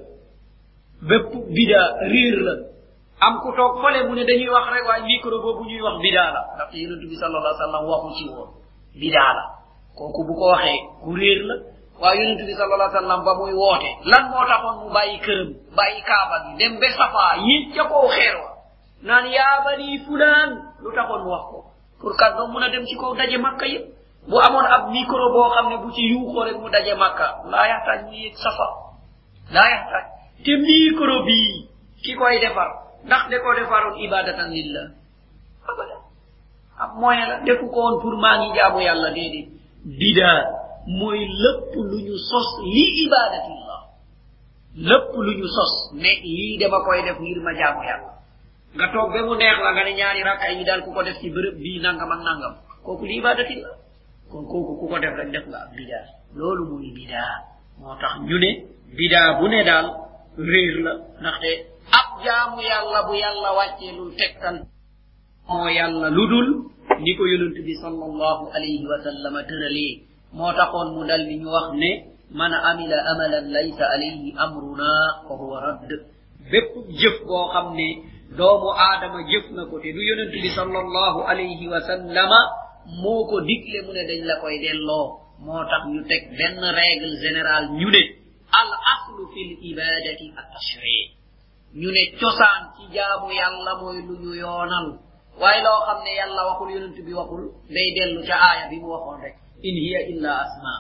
bépp bida réer la am ku toog fale mu ne dañuy wax rek waaye micro boobu ñuy wax bida la ndax yonent bi sallallahu alayhi wa sallam waxu ci woon bida la kooku bu ko waxee ku réer la waaye yonent bi sallallahu alayhi wa sallam ba muy woote lan moo taxoon mu bàyyi këram bàyyi kaaba gi dem ba safa yéeg ca kaw xeer wa naan yaa bani fulaan lu taxoon mu wax ko pour kat doom mun a dem ci kaw daje makka yëpp bu amoon ab micro boo xam ne bu ci yuuxoo rek mu daje makka laa yaxtaaj mu yéeg safa laa yaxtaaj te micro bii ki koy defar ndax de ko defaroon ibadatan lillah abada ab moyen la defu ko woon pour maa ngi jaamu yàlla déedéet bidaa mooy lépp lu ñu sos li ibadatillah lépp lu ñu sos ne lii dama koy def ngir ma jaamu yàlla nga toog ba mu neex la nga ne ñaari rakka yi daal ku ko def ci bërëb bii nangam ak nangam kooku li ibadatillah kon kooku ku ko def rek def nga ab bidaa loolu mooy bidaa moo tax ñu ne bidaa bu ne daal réer la ndaxte ab jaamu yàlla bu yàlla wàccee lul tegtal moo yàlla ludul ni ko yonent bi sallallahu alayhi wa sallam tëralee moo taxoon mu dal di ñu wax ne man amila amalan laysa alayhi amruna fa huwa radd bépp jëf boo xam ne doomu aadama jëf na ko te du yonent bi sallallahu alayhi wa sallama moo ko digle mu ne dañ la koy delloo moo tax ñu teg benn règle générale ñu ne al aslu fil ibadati at tashri' ñu ne cosaan ci jaamu yàlla mooy lu ñu yoonal waaye loo xam ne yàlla waxul yonent bi waxul day dellu ca aaya bi mu waxoon rek in hiya illa asma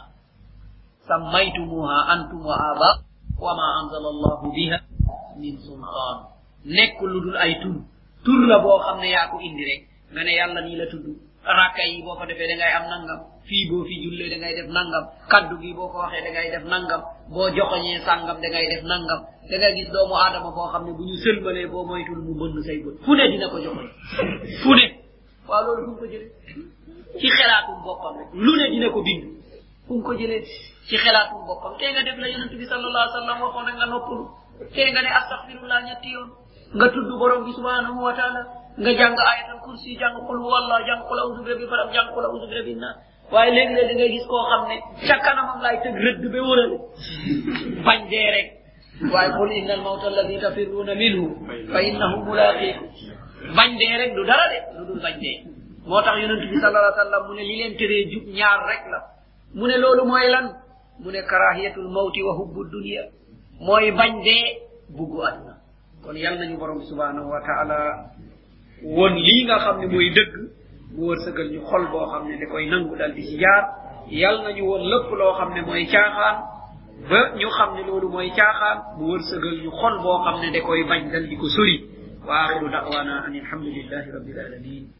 sammaytumuha antum wa aba wa ma anzala allahu biha min sultan nekk lu dul ay tur la boo xam ne yaa ko indi rek nga ne yàlla nii la tudd rakka yi boo ko defee da ngay am nangam fii boo fi jullee da ngay def nangam kaddu gi boo ko waxee da ngay def nangam boo joxoñee sàngam da ngay def nangam da ngay gis doomu aadama boo xam ne bu ñu sëlmalee boo moytul mu bënn say bët fu ne dina ko joxoñ fu ne waaw loolu fu mu ko jëlee ci xelaatum boppam rek lu ne dina ko bind fu mu ko jëlee ci xelaatum boppam tey nga def la yonent bi sallallahu alayhi wa sallam waxoon rek nga noppalu tey nga ne astaghfirullah ñetti yoon nga tudd borom bi subhanahu wa taala nga jàng ayatul kursi jàng qul huwallah jàng qul a'udhu bi rabbil falaq jàng qul a'udhu bi rabbin nas waaye léegi-léeg da ngay gis koo xam ne ca kanamam laay tëg rëdd ba wërale bañ dee rek waaye qul inna al mawta alladi tafirruuna minhu fa innahu mulaqikum bañ dee rek du dara de lu dul bañ dee moo tax yonent bi sallallahu alayhi wa sallam mu ne li leen teree jub ñaar rek la mu ne loolu mooy lan mu ne karahiyatul mawti wa hubbu dunya mooy bañ dee buggu aduna kon yal nañu borom bi subhanahu wa taala won lii nga xam ne mooy dëgg mu wërsëgal ñu xol boo xam ne da koy nangu dal di ci jaar yal nañu woon lépp loo xam ne mooy caaxaan ba ñu xam ne loolu mooy caaxaan mu wërsëgal ñu xol boo xam ne da koy bañ dal di ko sori wa axiru da'wana an alhamdulillahi rabbil alamin